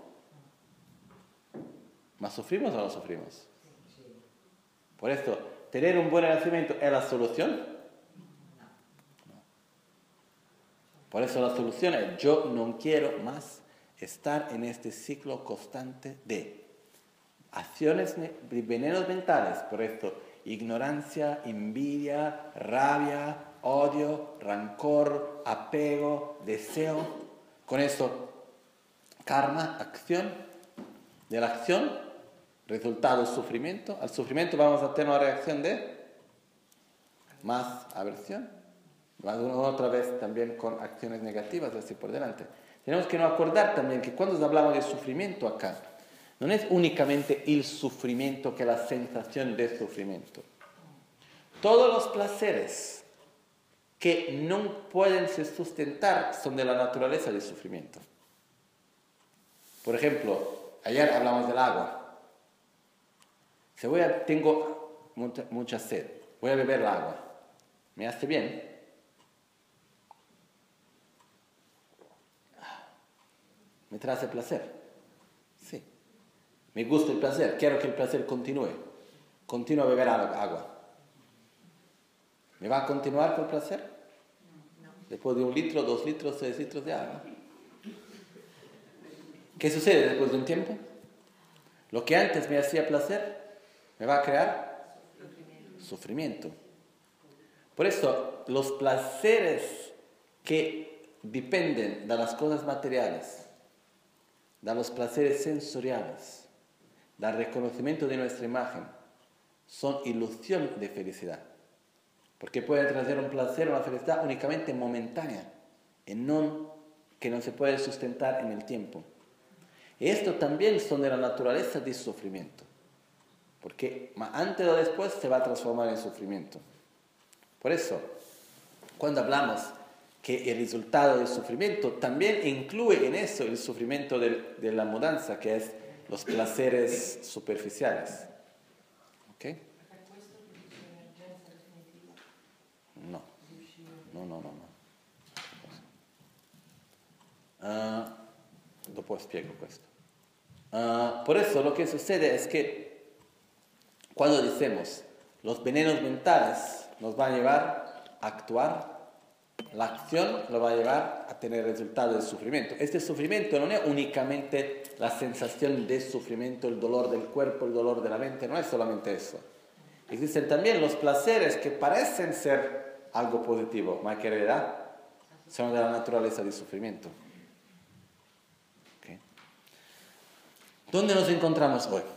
¿Mas sufrimos o no sufrimos? Sí. Por esto, ¿tener un buen renacimiento es la solución? No. Por eso la solución es, yo no quiero más estar en este ciclo constante de acciones, de venenos mentales. Por esto, ignorancia, envidia, rabia, odio, rancor, apego, deseo. Con esto, karma, acción. De la acción, resultado, sufrimiento. Al sufrimiento vamos a tener una reacción de más aversión. Otra vez también con acciones negativas, así por delante. Tenemos que no acordar también que cuando hablamos de sufrimiento acá, no es únicamente el sufrimiento que la sensación de sufrimiento. Todos los placeres que no pueden se sustentar son de la naturaleza del sufrimiento. Por ejemplo, ayer hablamos del agua. Si voy a, tengo mucha, mucha sed, voy a beber el agua. ¿Me hace bien? ¿Me trae placer? Sí. Me gusta el placer, quiero que el placer continúe. Continúo a beber agua. ¿Me va a continuar con el placer? No, no. Después de un litro, dos litros, tres litros de agua. ¿Qué sucede después de un tiempo? Lo que antes me hacía placer, me va a crear sufrimiento. sufrimiento. Por eso, los placeres que dependen de las cosas materiales, de los placeres sensoriales, del reconocimiento de nuestra imagen, son ilusión de felicidad. Porque pueden traer un placer, una felicidad únicamente momentánea, y no, que no se puede sustentar en el tiempo. Y esto también son de la naturaleza del sufrimiento, porque antes o después se va a transformar en sufrimiento. Por eso, cuando hablamos que el resultado del sufrimiento también incluye en eso el sufrimiento de, de la mudanza, que es los placeres superficiales. ¿Ok? No, no, no, no. no. Uh, dopo spiego questo. Uh, por eso lo que sucede es que cuando decimos los venenos mentales nos van a llevar a actuar, la acción lo va a llevar a tener resultado del sufrimiento. Este sufrimiento no es únicamente la sensación de sufrimiento, el dolor del cuerpo, el dolor de la mente, no es solamente eso. Existen también los placeres que parecen ser algo positivo, pero que en realidad son de la naturaleza del sufrimiento. ¿Okay? ¿Dónde nos encontramos hoy?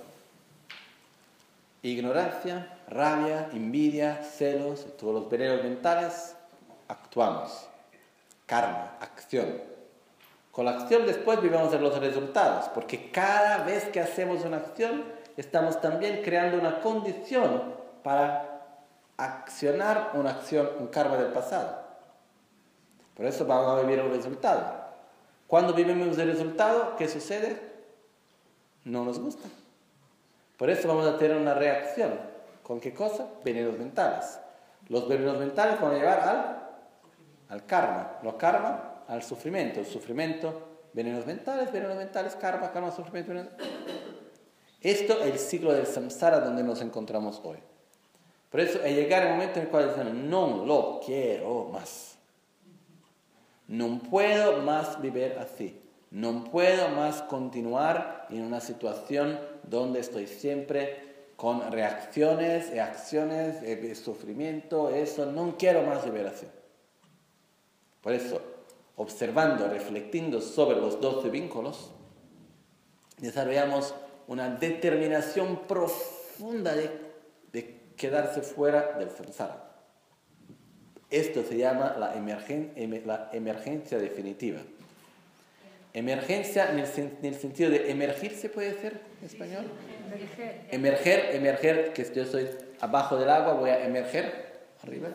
Ignorancia, rabia, envidia, celos, todos los venenos mentales, actuamos. Karma, acción. Con la acción después vivimos de los resultados, porque cada vez que hacemos una acción, estamos también creando una condición para accionar una acción, un karma del pasado. Por eso vamos a vivir un resultado. Cuando vivimos el resultado, ¿qué sucede? No nos gusta. Por eso vamos a tener una reacción. ¿Con qué cosa? Venenos mentales. Los venenos mentales van a llevar al, al karma. Los karma al sufrimiento. El sufrimiento, venenos mentales, venenos mentales, karma, karma, sufrimiento. Venenos. Esto es el ciclo del samsara donde nos encontramos hoy. Por eso es llegar el momento en el cual decimos, no lo quiero más. No puedo más vivir así. No puedo más continuar en una situación donde estoy siempre con reacciones y acciones de sufrimiento. Eso, no quiero más vivir así. Por eso, observando, reflexionando sobre los doce vínculos, desarrollamos una determinación profunda de, de quedarse fuera del samsara. Esto se llama la, emergen, la emergencia definitiva. Emergencia en el, en el sentido de emergir, ¿se puede decir en español? Emerger. Emerger, emerger, que yo estoy abajo del agua, voy a emerger arriba.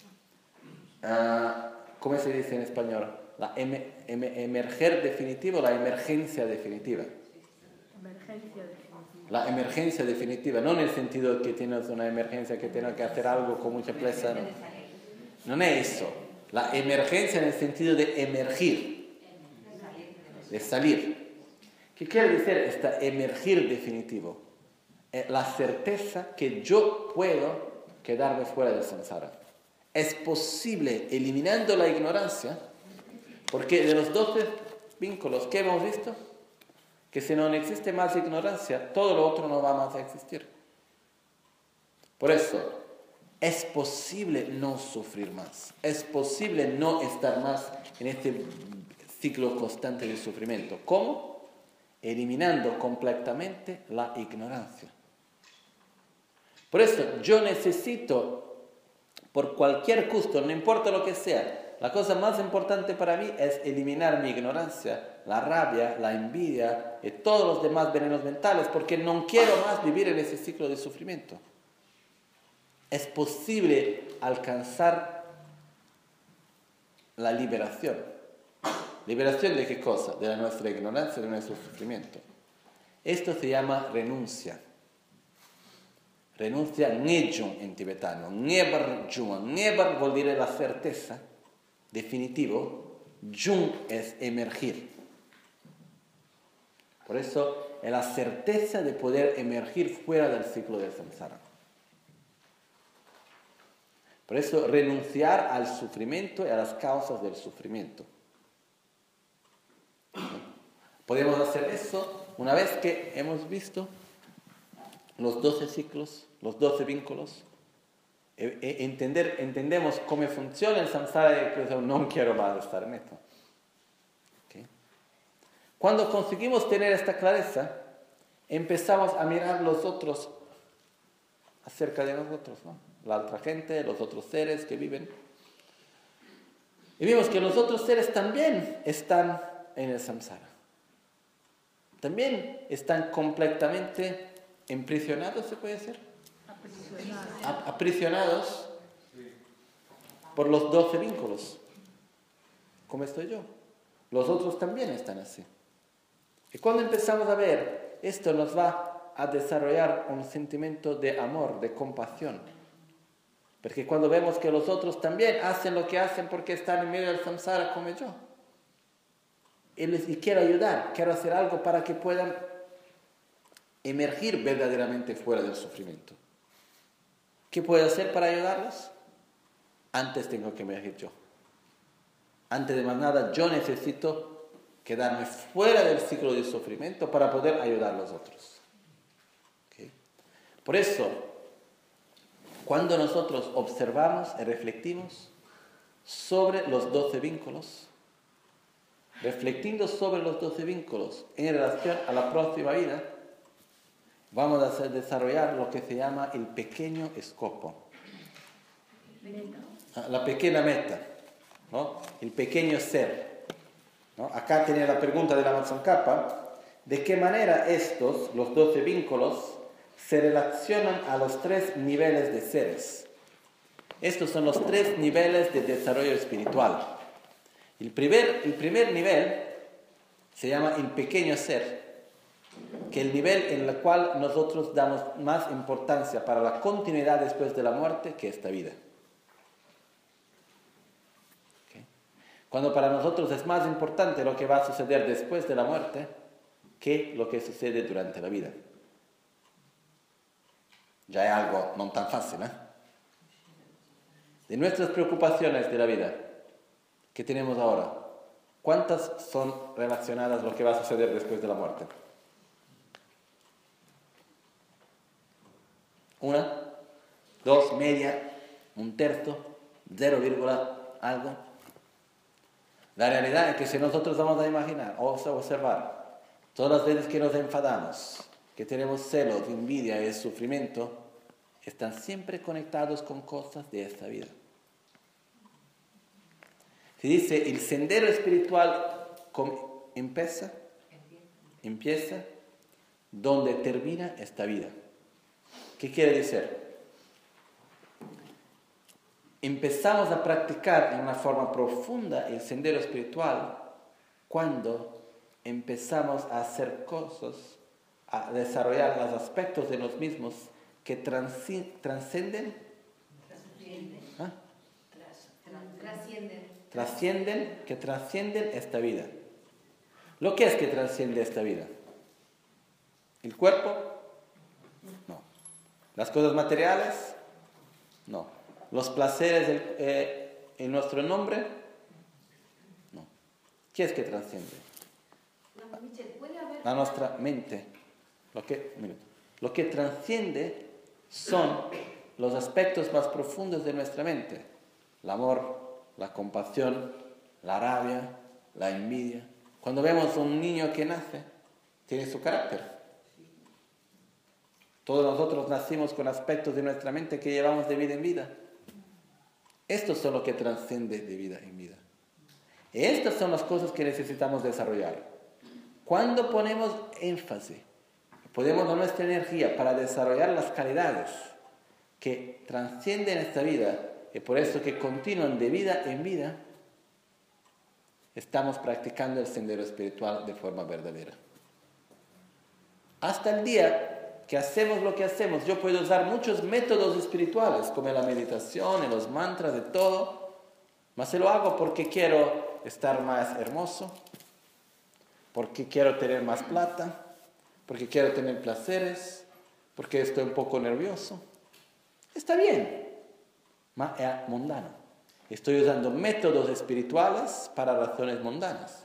Uh, ¿Cómo se dice en español? La em, em, emerger definitivo, la emergencia definitiva. Emergencia definitiva. La emergencia definitiva, no en el sentido de que tienes una emergencia, que tienes que hacer algo con mucha presa. No, no es eso. La emergencia en el sentido de emergir. De salir. ¿Qué quiere decir esta emergir definitivo? Es la certeza que yo puedo quedarme fuera del samsara. Es posible, eliminando la ignorancia, porque de los doce vínculos que hemos visto, que si no existe más ignorancia, todo lo otro no va más a existir. Por eso, es posible no sufrir más. Es posible no estar más en este ciclo constante de sufrimiento. ¿Cómo? Eliminando completamente la ignorancia. Por eso yo necesito, por cualquier costo, no importa lo que sea, la cosa más importante para mí es eliminar mi ignorancia, la rabia, la envidia y todos los demás venenos mentales, porque no quiero más vivir en ese ciclo de sufrimiento. Es posible alcanzar la liberación. ¿Liberación de qué cosa? De la nuestra ignorancia, de nuestro sufrimiento. Esto se llama renuncia. Renuncia Ngejung en tibetano. Ngebar Jung. Ngebar vuol dire la certeza, definitivo. Jung es emergir. Por eso es la certeza de poder emergir fuera del ciclo del samsara. Por eso renunciar al sufrimiento y a las causas del sufrimiento. Podemos hacer eso una vez que hemos visto los doce ciclos, los doce vínculos, entender, entendemos cómo funciona el samsara y que no quiero más estar en esto. ¿Okay? Cuando conseguimos tener esta clareza, empezamos a mirar los otros acerca de nosotros, ¿no? La otra gente, los otros seres que viven. Y vimos que los otros seres también están en el samsara. También están completamente emprisionados, ¿se puede decir? Aprisionados. Aprisionados por los doce vínculos. ¿Cómo estoy yo? Los otros también están así. Y cuando empezamos a ver, esto nos va a desarrollar un sentimiento de amor, de compasión. Porque cuando vemos que los otros también hacen lo que hacen porque están en medio del samsara como yo. Y les y quiero ayudar, quiero hacer algo para que puedan emergir verdaderamente fuera del sufrimiento. ¿Qué puedo hacer para ayudarlos? Antes tengo que emergir yo. Antes de más nada, yo necesito quedarme fuera del ciclo de sufrimiento para poder ayudar a los otros. ¿Okay? Por eso, cuando nosotros observamos y reflectimos sobre los doce vínculos, reflectiendo sobre los doce vínculos en relación a la próxima vida, vamos a hacer desarrollar lo que se llama el pequeño escopo. La pequeña meta, ¿no? El pequeño ser, ¿no? Acá tenía la pregunta de la Matsongkhapa, ¿de qué manera estos, los doce vínculos, se relacionan a los tres niveles de seres? Estos son los tres niveles de desarrollo espiritual. El primer, el primer nivel se llama el pequeño ser, que es el nivel en el cual nosotros damos más importancia para la continuidad después de la muerte que esta vida. ¿Okay? Cuando para nosotros es más importante lo que va a suceder después de la muerte que lo que sucede durante la vida. Ya es algo no tan fácil, ¿eh? De nuestras preocupaciones de la vida que tenemos ahora, ¿cuántas son relacionadas a lo que va a suceder después de la muerte? Una, dos, media, un tercio, cero vírgula algo. La realidad es que si nosotros vamos a imaginar o a observar todas las veces que nos enfadamos, que tenemos celos, envidia y sufrimiento, están siempre conectados con cosas de esta vida. Se dice, el sendero espiritual empieza, empieza donde termina esta vida. ¿Qué quiere decir? Empezamos a practicar de una forma profunda el sendero espiritual cuando empezamos a hacer cosas, a desarrollar los aspectos de los mismos que transci- trascenden, ¿ah? Trascienden. trascienden, que trascienden esta vida. ¿Lo que es que trasciende esta vida? ¿El cuerpo? No. ¿Las cosas materiales? No. ¿Los placeres del, eh, en nuestro nombre? No. ¿Qué es que trasciende? No, Michel, ¿puede haber... A nuestra mente. Lo que, mira, lo que trasciende son los aspectos más profundos de nuestra mente. El amor, la compasión, la rabia, la envidia. Cuando vemos a un niño que nace, tiene su carácter. Todos nosotros nacimos con aspectos de nuestra mente que llevamos de vida en vida. Estos son lo que trasciende de vida en vida. Y estas son las cosas que necesitamos desarrollar. Cuando ponemos énfasis, ponemos nuestra energía para desarrollar las calidades que trascienden esta vida, y por eso que continúan de vida en vida, estamos practicando el sendero espiritual de forma verdadera. Hasta el día que hacemos lo que hacemos, yo puedo usar muchos métodos espirituales, como la meditación, los mantras, de todo, mas se lo hago porque quiero estar más hermoso, porque quiero tener más plata, porque quiero tener placeres, porque estoy un poco nervioso. Está bien, ma è mundano. Estoy usando métodos espirituales para razones mundanas.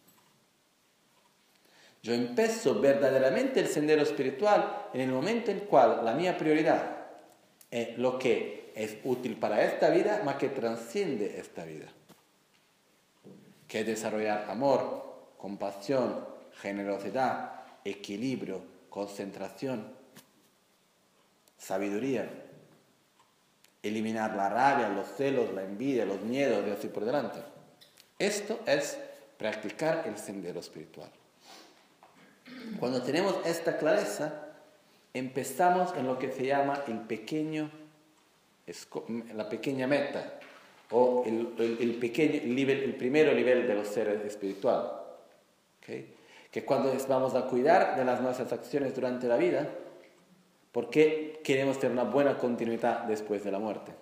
Yo empiezo verdaderamente el sendero espiritual en el momento en el cual la mía prioridad es lo que es útil para esta vida, ma que trasciende esta vida. Que es desarrollar amor, compasión, generosidad, equilibrio, concentración, sabiduría. Eliminar la rabia, los celos, la envidia, los miedos y así por delante. Esto es practicar el sendero espiritual. Cuando tenemos esta clareza, empezamos en lo que se llama el pequeño, la pequeña meta, o el, el, el, pequeño, el, nivel, el primero nivel de los seres espirituales. ¿Okay? Que cuando vamos a cuidar de las nuestras acciones durante la vida, porque queremos tener una buena continuidad después de la muerte.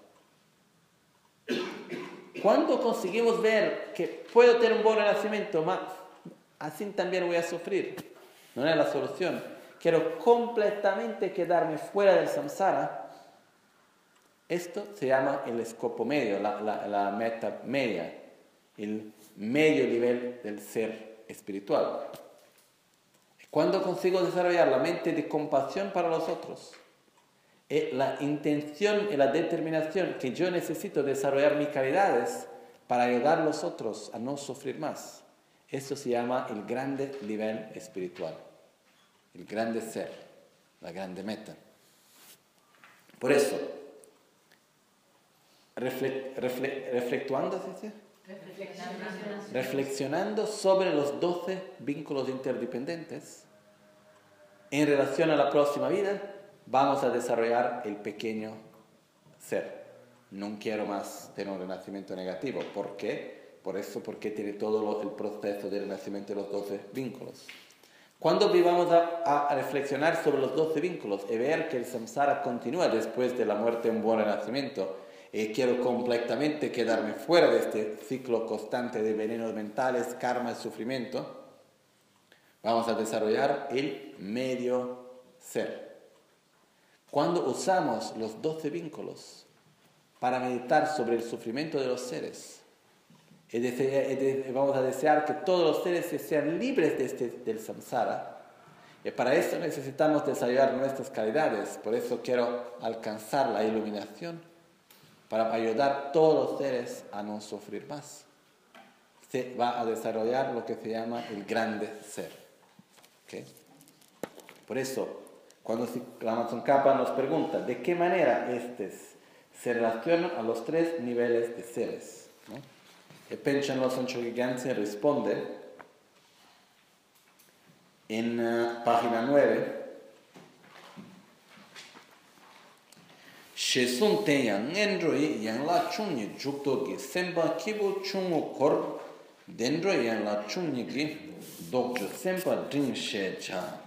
Cuando conseguimos ver que puedo tener un buen renacimiento, mas así también voy a sufrir, no es la solución. Quiero completamente quedarme fuera del samsara. Esto se llama el escopo medio, la, la, la meta media, el medio nivel del ser espiritual. Cuando consigo desarrollar la mente de compasión para los otros, y la intención y la determinación que yo necesito desarrollar mis calidades para ayudar a los otros a no sufrir más, eso se llama el grande nivel espiritual, el grande ser, la grande meta. Por eso, refle, refle, reflectuando, ¿sí? Reflexionando. reflexionando sobre los doce vínculos interdependientes, en relación a la próxima vida, vamos a desarrollar el pequeño ser. No quiero más tener un renacimiento negativo. ¿Por qué? Por eso, porque tiene todo lo, el proceso de renacimiento de los doce vínculos. Cuando vamos a, a reflexionar sobre los doce vínculos y ver que el samsara continúa después de la muerte, un buen renacimiento, y quiero completamente quedarme fuera de este ciclo constante de venenos mentales, karma y sufrimiento, vamos a desarrollar el medio ser. Cuando usamos los doce vínculos para meditar sobre el sufrimiento de los seres, y dese, y de, vamos a desear que todos los seres sean libres de este, del samsara, y para eso necesitamos desarrollar nuestras calidades. Por eso quiero alcanzar la iluminación, para ayudar a todos los seres a no sufrir más. Se va a desarrollar lo que se llama el grande ser. ¿Okay? Por eso, cuando la Tsongkhapa nos pregunta de qué manera estos se relacionan a los tres niveles de seres, ¿no? El Panchen Losang Chökyi Gyaltsen responde en uh, página nueve. Shesun tenyang ngendroi yang la chungni jukto gi sempa kibu chungu kor dendro yang la chungni gi dokjo sempa dring she cha.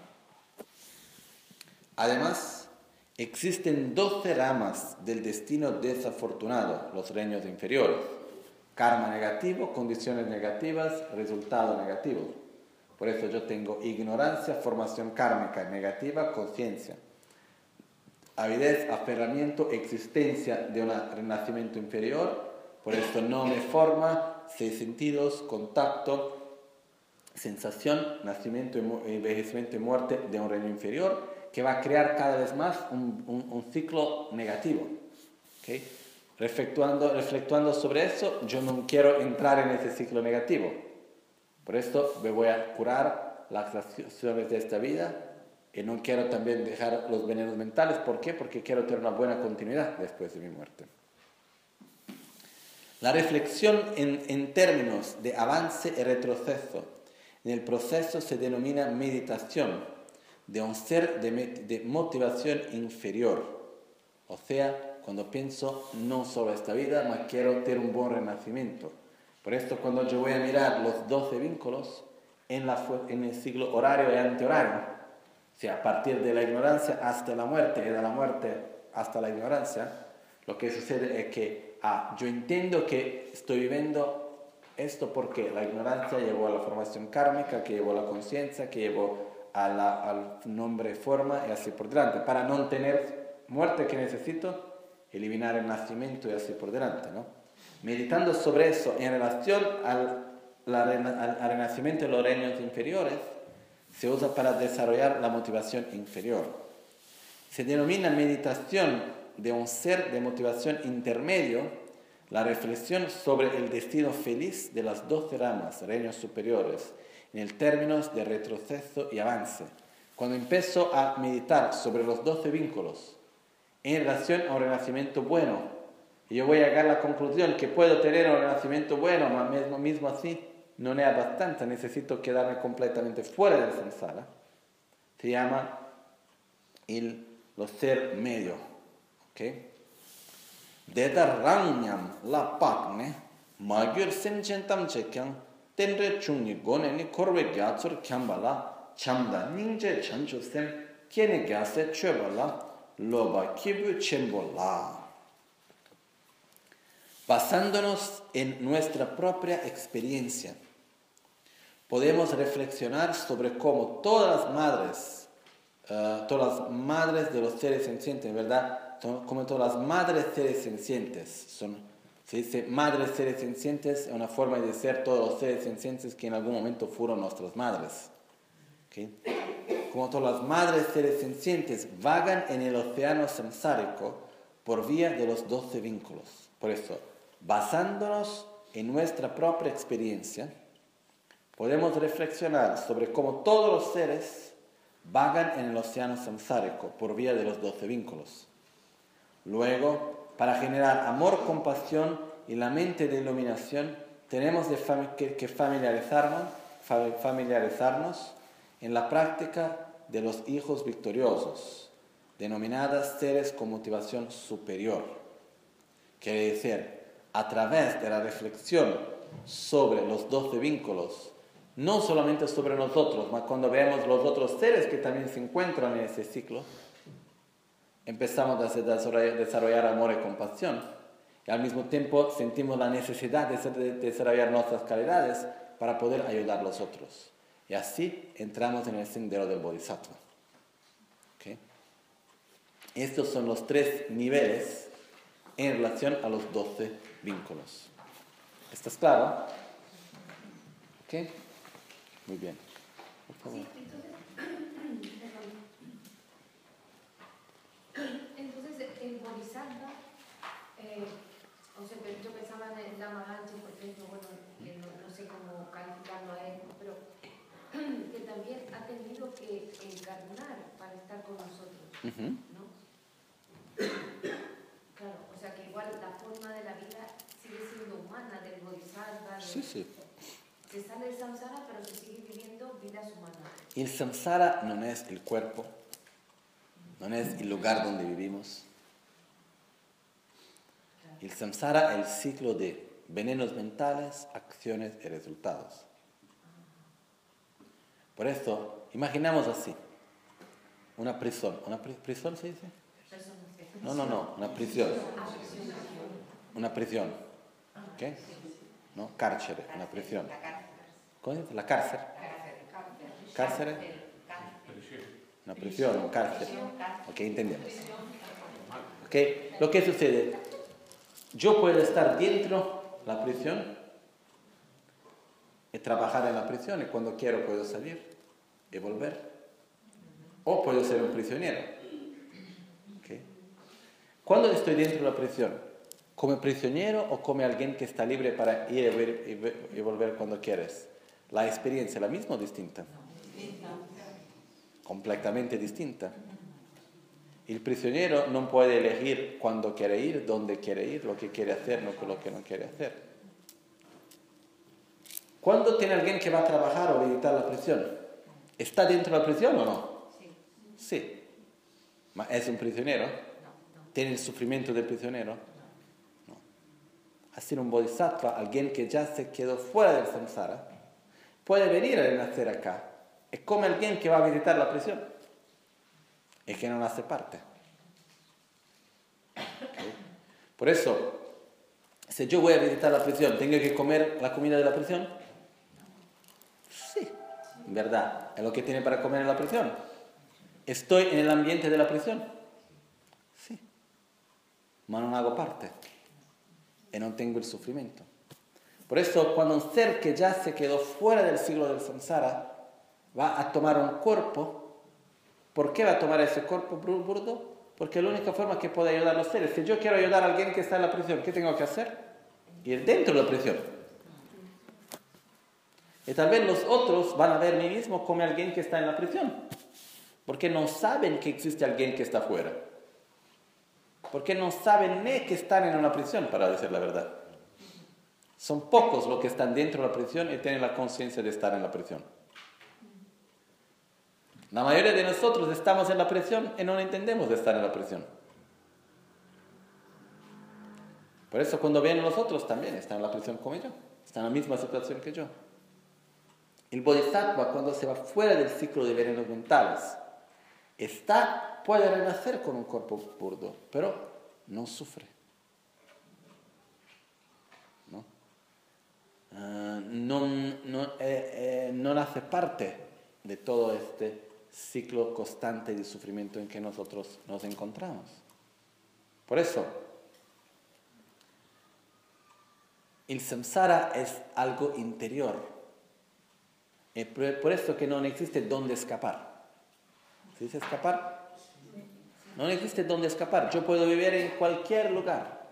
Además, existen doce ramas del destino desafortunado, los reinos inferiores. Karma negativo, condiciones negativas, resultado negativo. Por eso yo tengo ignorancia, formación kármica negativa, conciencia. Avidez, aferramiento, existencia de un renacimiento inferior. Por esto no me forma seis sentidos, contacto, sensación, nacimiento, envejecimiento y muerte de un reino inferior, que va a crear cada vez más un, un, un ciclo negativo. ¿Okay? Reflectuando, reflectuando sobre eso, yo no quiero entrar en ese ciclo negativo. Por esto me voy a curar las acciones de esta vida. Y no quiero también dejar los venenos mentales. ¿Por qué? Porque quiero tener una buena continuidad después de mi muerte. La reflexión en, en términos de avance y retroceso en el proceso se denomina meditación de un ser de, de motivación inferior. O sea, cuando pienso no solo esta vida, mas quiero tener un buen renacimiento. Por esto, cuando yo voy a mirar los doce vínculos en, la, en el siglo horario y antehorario, o sea, a partir de la ignorancia hasta la muerte y de la muerte hasta la ignorancia, lo que sucede es que ah, yo entiendo que estoy viviendo Esto porque la ignorancia llevó a la formación kármica, que llevó a la conciencia, que llevó a la, al nombre forma y así por delante. Para no tener muerte, que necesito eliminar el nacimiento y así por delante, ¿no? Meditando sobre eso en relación al, la, al, al renacimiento de los reinos inferiores, se usa para desarrollar la motivación inferior. Se denomina meditación de un ser de motivación intermedio la reflexión sobre el destino feliz de las doce ramas, reinos superiores, en el términos de retroceso y avance. Cuando empiezo a meditar sobre los doce vínculos en relación a un renacimiento bueno, y yo voy a llegar a la conclusión que puedo tener un renacimiento bueno, pero mismo, mismo así no es bastante, necesito quedarme completamente fuera del samsara. Se llama el, los ser medio. ¿Okay? Deda rangnyam la pakne magyur semchentam chekyang tenre chungni goneni korwe gyatsur kyambala chamda ningje chanchu sem kiene gyase chöbala loba kibu chembola. Basándonos en nuestra propia experiencia, podemos reflexionar sobre cómo todas las madres, uh, todas las madres de los seres sencientes, ¿verdad? Como todas las madres seres sencientes, son, se dice madres seres sencientes, es una forma de ser todos los seres sencientes que en algún momento fueron nuestras madres. ¿Okay? Como todas las madres seres sencientes vagan en el océano samsárico por vía de los doce vínculos. Por eso, basándonos en nuestra propia experiencia, podemos reflexionar sobre cómo todos los seres vagan en el océano samsárico por vía de los doce vínculos. Luego, para generar amor, compasión y la mente de iluminación, tenemos de fam- que, que familiarizarnos, fa- familiarizarnos en la práctica de los hijos victoriosos, denominadas seres con motivación superior. Quiere decir, a través de la reflexión sobre los doce vínculos, no solamente sobre nosotros, mas cuando vemos los otros seres que también se encuentran en ese ciclo, empezamos a desarrollar amor y compasión. Y al mismo tiempo sentimos la necesidad de desarrollar nuestras calidades para poder ayudar a los otros. Y así entramos en el sendero del Bodhisattva. ¿Okay? Estos son los tres niveles en relación a los doce vínculos. ¿Estás claro? ¿Ok? Muy bien. Por favor. Sí, entonces, entonces el Bodhisattva, eh, o sea, yo pensaba en la Mahanchi, por ejemplo, bueno, que no, no sé cómo calificarlo a él, pero que también ha tenido que encarnar para estar con nosotros, Uh-huh. ¿no? Claro, o sea que igual la forma de la vida sigue siendo humana, del Bodhisattva, de, Sí, sí. se sale del samsara, pero se sigue viviendo vidas humanas. El samsara no es el cuerpo, no es el lugar donde vivimos. El samsara es el ciclo de venenos mentales, acciones y resultados. Por eso, imaginamos así, una prisión. ¿Una pri- prisión se dice? No, no, no, una prisión. Una prisión. ¿Ok? ¿No? Carcere, una prisión. ¿Cómo se dice? La cárcel. Cárcere. Una prisión, un cárcel. Ok, entendemos. Ok, lo que sucede, yo puedo estar dentro de la prisión y trabajar en la prisión y cuando quiero puedo salir y volver. O puedo ser un prisionero. ¿Okay? ¿Cuándo estoy dentro de la prisión? ¿Como prisionero o como alguien que está libre para ir y, ver, y, ver, y volver cuando quieres? ¿La experiencia es la misma o distinta? Completamente distinta. El prisionero no puede elegir cuándo quiere ir, dónde quiere ir, lo que quiere hacer, no lo que no quiere hacer. ¿Cuándo tiene alguien que va a trabajar o visitar la prisión? ¿Está dentro de la prisión o no? Sí. ¿Ma es un prisionero? ¿Tiene el sufrimiento del prisionero? No. Así un bodhisattva, alguien que ya se quedó fuera del samsara, puede venir a renacer acá. Es como alguien que va a visitar la prisión y que no hace parte. ¿Okay? Por eso, si yo voy a visitar la prisión, ¿tengo que comer la comida de la prisión? Sí, en verdad, es lo que tiene para comer en la prisión. ¿Estoy en el ambiente de la prisión? Sí, ma non hago parte y no tengo el sufrimiento. Por eso, cuando un ser que ya se quedó fuera del ciclo del samsara va a tomar un cuerpo, ¿por qué va a tomar ese cuerpo burdo? Porque es la única forma que puede ayudar a los seres. Si yo quiero ayudar a alguien que está en la prisión, ¿qué tengo que hacer? Ir dentro de la prisión. Y tal vez los otros van a ver a mí mismo como alguien que está en la prisión. Porque no saben que existe alguien que está fuera. Porque no saben ni que están en una prisión, para decir la verdad. Son pocos los que están dentro de la prisión y tienen la conciencia de estar en la prisión. La mayoría de nosotros estamos en la prisión y no entendemos de estar en la prisión. Por eso cuando vienen los otros también están en la prisión como yo. Están en la misma situación que yo. El bodhisattva, cuando se va fuera del ciclo de venenos mentales, está, puede renacer con un cuerpo burdo, pero no sufre. ¿No? Uh, no, no, eh, eh, no hace parte de todo este ciclo constante de sufrimiento en que nosotros nos encontramos. Por eso, el samsara es algo interior. Es por eso que no existe dónde escapar. ¿Se dice escapar? No existe dónde escapar. Yo puedo vivir en cualquier lugar.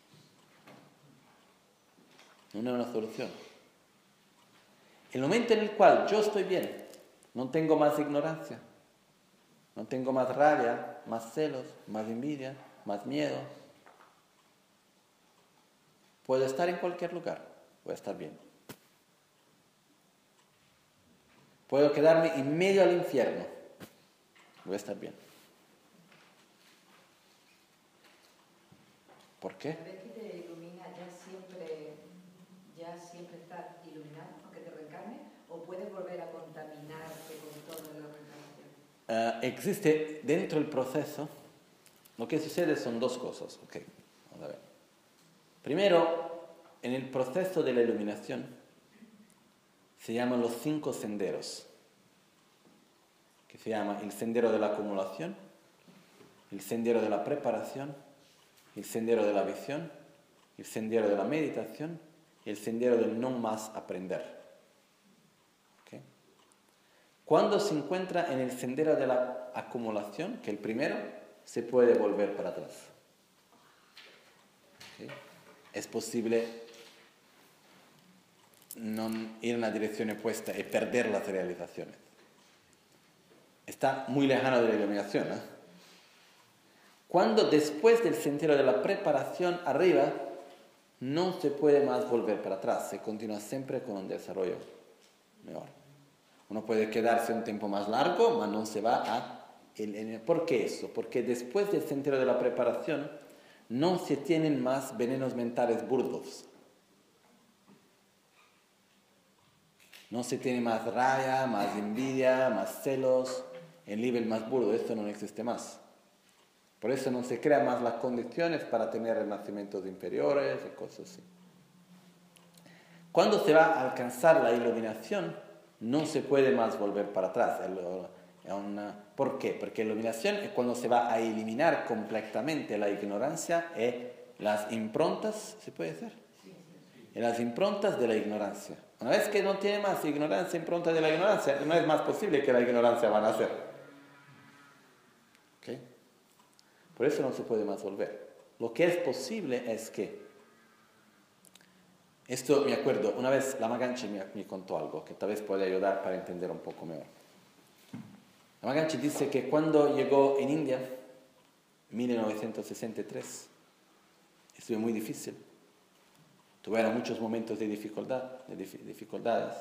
No es una solución. El momento en el cual yo estoy bien, no tengo más ignorancia, no tengo más rabia, más celos, más envidia, más miedo. Puedo estar en cualquier lugar, voy a estar bien. Puedo quedarme en medio del infierno, voy a estar bien. ¿Por qué? Una vez que te ilumina, ya siempre, ya siempre estás iluminado, aunque te reencarne, o puedes volver a contaminarte con todo la reencarnación. Uh, existe dentro del proceso, lo que sucede son dos cosas. Okay, vamos a ver. Primero, en el proceso de la iluminación se llaman los cinco senderos, que se llama el sendero de la acumulación, el sendero de la preparación, el sendero de la visión, el sendero de la meditación y el sendero del no más aprender. ¿Okay? Cuando se encuentra en el sendero de la acumulación, que el primero, se puede volver para atrás. ¿Okay? Es posible no ir en la dirección opuesta y perder las realizaciones. Está muy lejano de la iluminación, ¿eh? Cuando después del sendero de la preparación arriba, no se puede más volver para atrás, se continúa siempre con un desarrollo mejor. Uno puede quedarse un tiempo más largo, pero no se va a... El, el, ¿Por qué eso? Porque después del sendero de la preparación no se tienen más venenos mentales burdos. No se tiene más rabia, más envidia, más celos, el nivel más burdo, esto no existe más. Por eso no se crean más las condiciones para tener renacimientos inferiores y cosas así. Cuando se va a alcanzar la iluminación, no se puede más volver para atrás. Una... ¿Por qué? Porque la iluminación es cuando se va a eliminar completamente la ignorancia y las improntas, ¿se puede decir? Y las improntas de la ignorancia. Una vez que no tiene más ignorancia, impronta de la ignorancia, no es más posible que la ignorancia van a hacer. ¿Okay? Por eso no se puede más volver. Lo que es posible es que, esto me acuerdo, una vez Lama Ganchi me, me contó algo que tal vez puede ayudar para entender un poco mejor. Lama Ganchi dice que cuando llegó en India, en mil novecientos sesenta y tres, estuvo muy difícil. Tuvieron muchos momentos de dificultad, de dif- dificultades.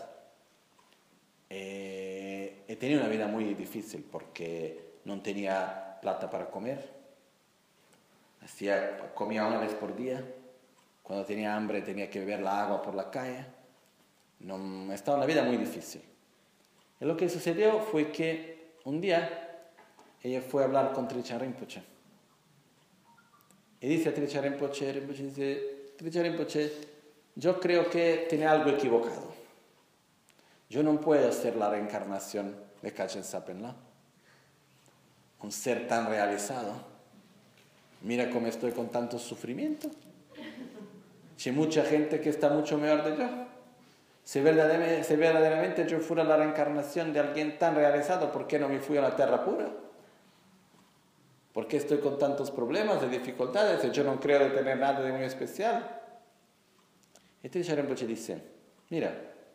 Eh, he tenido una vida muy difícil porque no tenía plata para comer. Hacía, comía una vez por día. Cuando tenía hambre tenía que beber la agua por la calle. No, estaba una vida muy difícil. Y lo que sucedió fue que un día ella fue a hablar con Trijang Rinpoche. Y dice a Trijang Rinpoche, Rinpoche dice, Trikha Rinpoche, yo creo que tiene algo equivocado. Yo no puedo ser la reencarnación de Kachin Sapenla, un ser tan realizado. Mira cómo estoy con tanto sufrimiento. Hay mucha gente que está mucho mejor de yo. Si verdaderamente, si verdaderamente yo fuera la reencarnación de alguien tan realizado, ¿por qué no me fui a la tierra pura? ¿Por qué estoy con tantos problemas, de dificultades? Y yo no creo de tener nada de muy especial. Y Trikha Rinpoche dice, mira,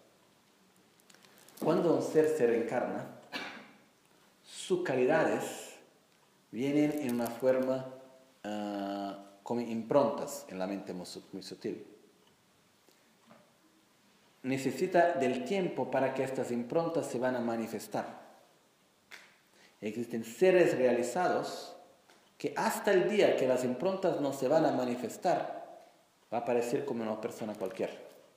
cuando un ser se reencarna, sus calidades vienen en una forma uh, como improntas en la mente muy, muy sutil. Necesita del tiempo para que estas improntas se van a manifestar. Existen seres realizados que hasta el día que las improntas no se van a manifestar, va a parecer como una persona cualquiera.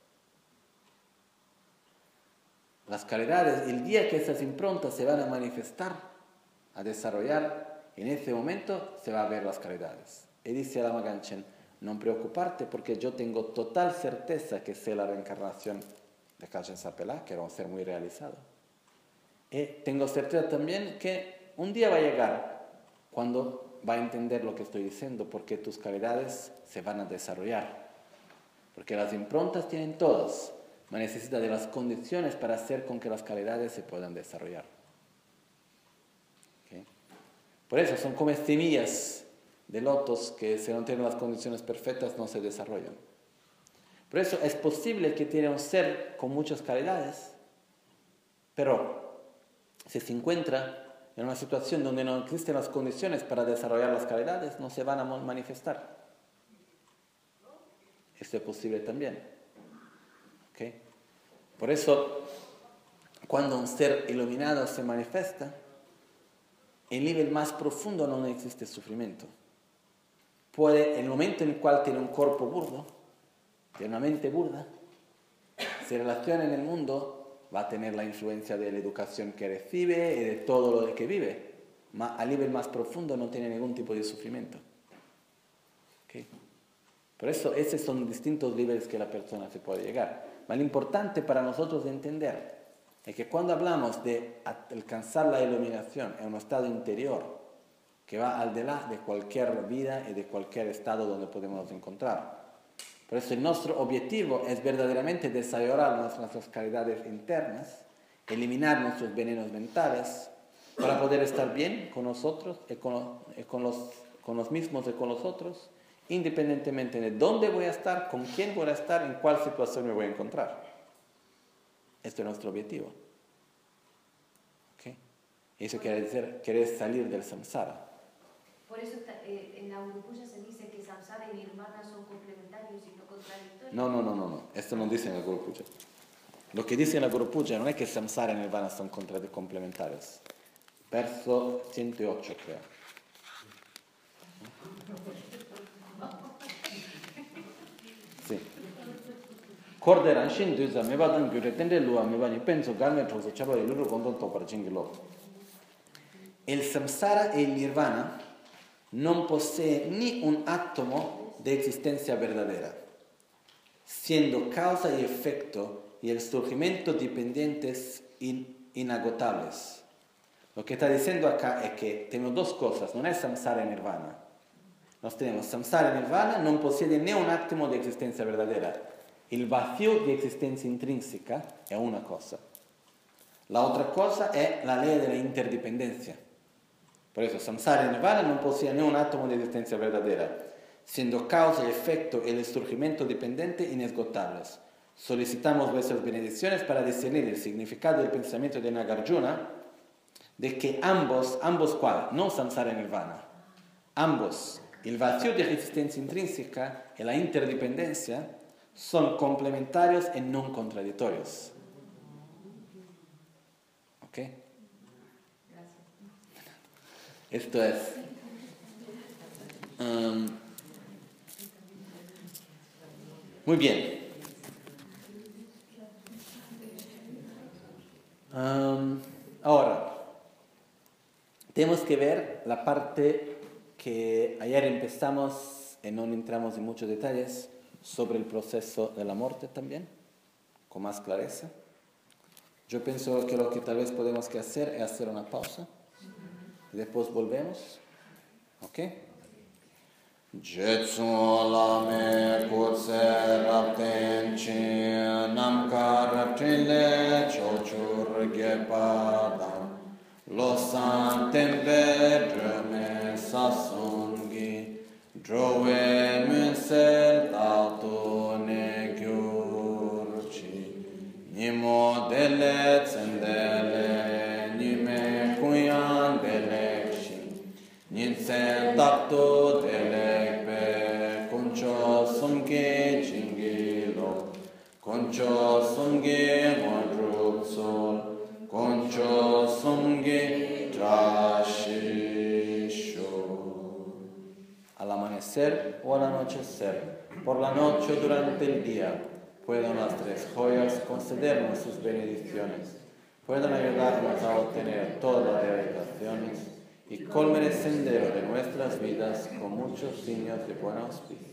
Las calidades, el día que esas improntas se van a manifestar, a desarrollar, en ese momento se va a ver las calidades. Y dice a Lama Ganchen, no preocuparte porque yo tengo total certeza que sé la reencarnación de Kachin Sapelá, que era un ser muy realizado. Y tengo certeza también que un día va a llegar cuando va a entender lo que estoy diciendo, porque tus calidades se van a desarrollar. Porque las improntas tienen todas, pero necesita de las condiciones para hacer con que las calidades se puedan desarrollar. ¿Okay? Por eso son como semillas de lotos que si no tienen las condiciones perfectas no se desarrollan. Por eso es posible que tiene un ser con muchas calidades, pero si se encuentra en una situación donde no existen las condiciones para desarrollar las calidades, no se van a manifestar. Esto es posible también. ¿Okay? Por eso, cuando un ser iluminado se manifiesta, en el nivel más profundo no existe sufrimiento. Puede, en el momento en el cual tiene un cuerpo burdo, tiene una mente burda, se relaciona en el mundo, va a tener la influencia de la educación que recibe y de todo lo que vive. Ma, a nivel más profundo no tiene ningún tipo de sufrimiento. ¿Okay? Por eso, esos son distintos niveles que la persona se puede llegar. Pero lo importante para nosotros entender es que cuando hablamos de alcanzar la iluminación en un estado interior que va al delante de cualquier vida y de cualquier estado donde podemos encontrar. Por eso nuestro objetivo es verdaderamente desarrollar nuestras calidades internas, eliminar nuestros venenos mentales para poder estar bien con nosotros y con, y con, los, con los mismos y con los otros, independientemente de dónde voy a estar, con quién voy a estar, en cuál situación me voy a encontrar. Este es nuestro objetivo. ¿Okay? Eso quiere decir, querer salir del samsara. Por eso está, eh, en la Gurupuja se dice que samsara y nirvana son complementarios y no contradictorios. No, no, no, no, no. Esto no dice en la Gurupuja. Lo que dice en la Gurupuja no es que samsara y nirvana son complementarios. Verso ciento ocho, creo. Sí. Corderan shin duza me badan gyuretende lua me bani penso galme troso chaba y luru condon to para chingilo. El samsara e il nirvana non posee ni un átomo de existencia verdadera, siendo causa y efecto y el surgimiento dependientes in, inagotables. Lo que está diciendo acá es que tenemos dos cosas, no es samsara y nirvana. Nos tenemos samsara y nirvana, non possiede ni un átomo de existencia verdadera. El vacío de existencia intrínseca es una cosa. La otra cosa es la ley de la interdependencia. Por eso, samsara y nirvana no posee ni un átomo de existencia verdadera, siendo causa y efecto el surgimiento dependiente inesgotables. Solicitamos vuestras bendiciones para discernir el significado del pensamiento de Nagarjuna, de que ambos, ambos cuál, no samsara y nirvana, ambos, el vacío de existencia intrínseca y la interdependencia, son complementarios y no contradictorios. ¿Ok? Esto es um, muy bien. Um, ahora, tenemos que ver la parte que ayer empezamos y no entramos en muchos detalles, sobre el proceso de la muerte también, con más clareza. Yo pienso que lo que tal vez podemos que hacer es hacer una pausa y después volvemos. ¿Ok? Jetsu lame kutse rapten chi namkar trile chochur gepadam lo santembe dreme sasungi drove munsel tato ne gyurchi nimo dele tsendele nime kuyan delekshi ninsen tato delekpe kuncho sumge chingilo kuncho sumge modrup sol concho sumge trashisho. Al amanecer o al anochecer, por la noche o durante el día, puedan las tres joyas concedernos sus bendiciones, puedan ayudarnos a obtener todas las realizaciones y colmen el sendero de nuestras vidas con muchos signos de buen auspicio.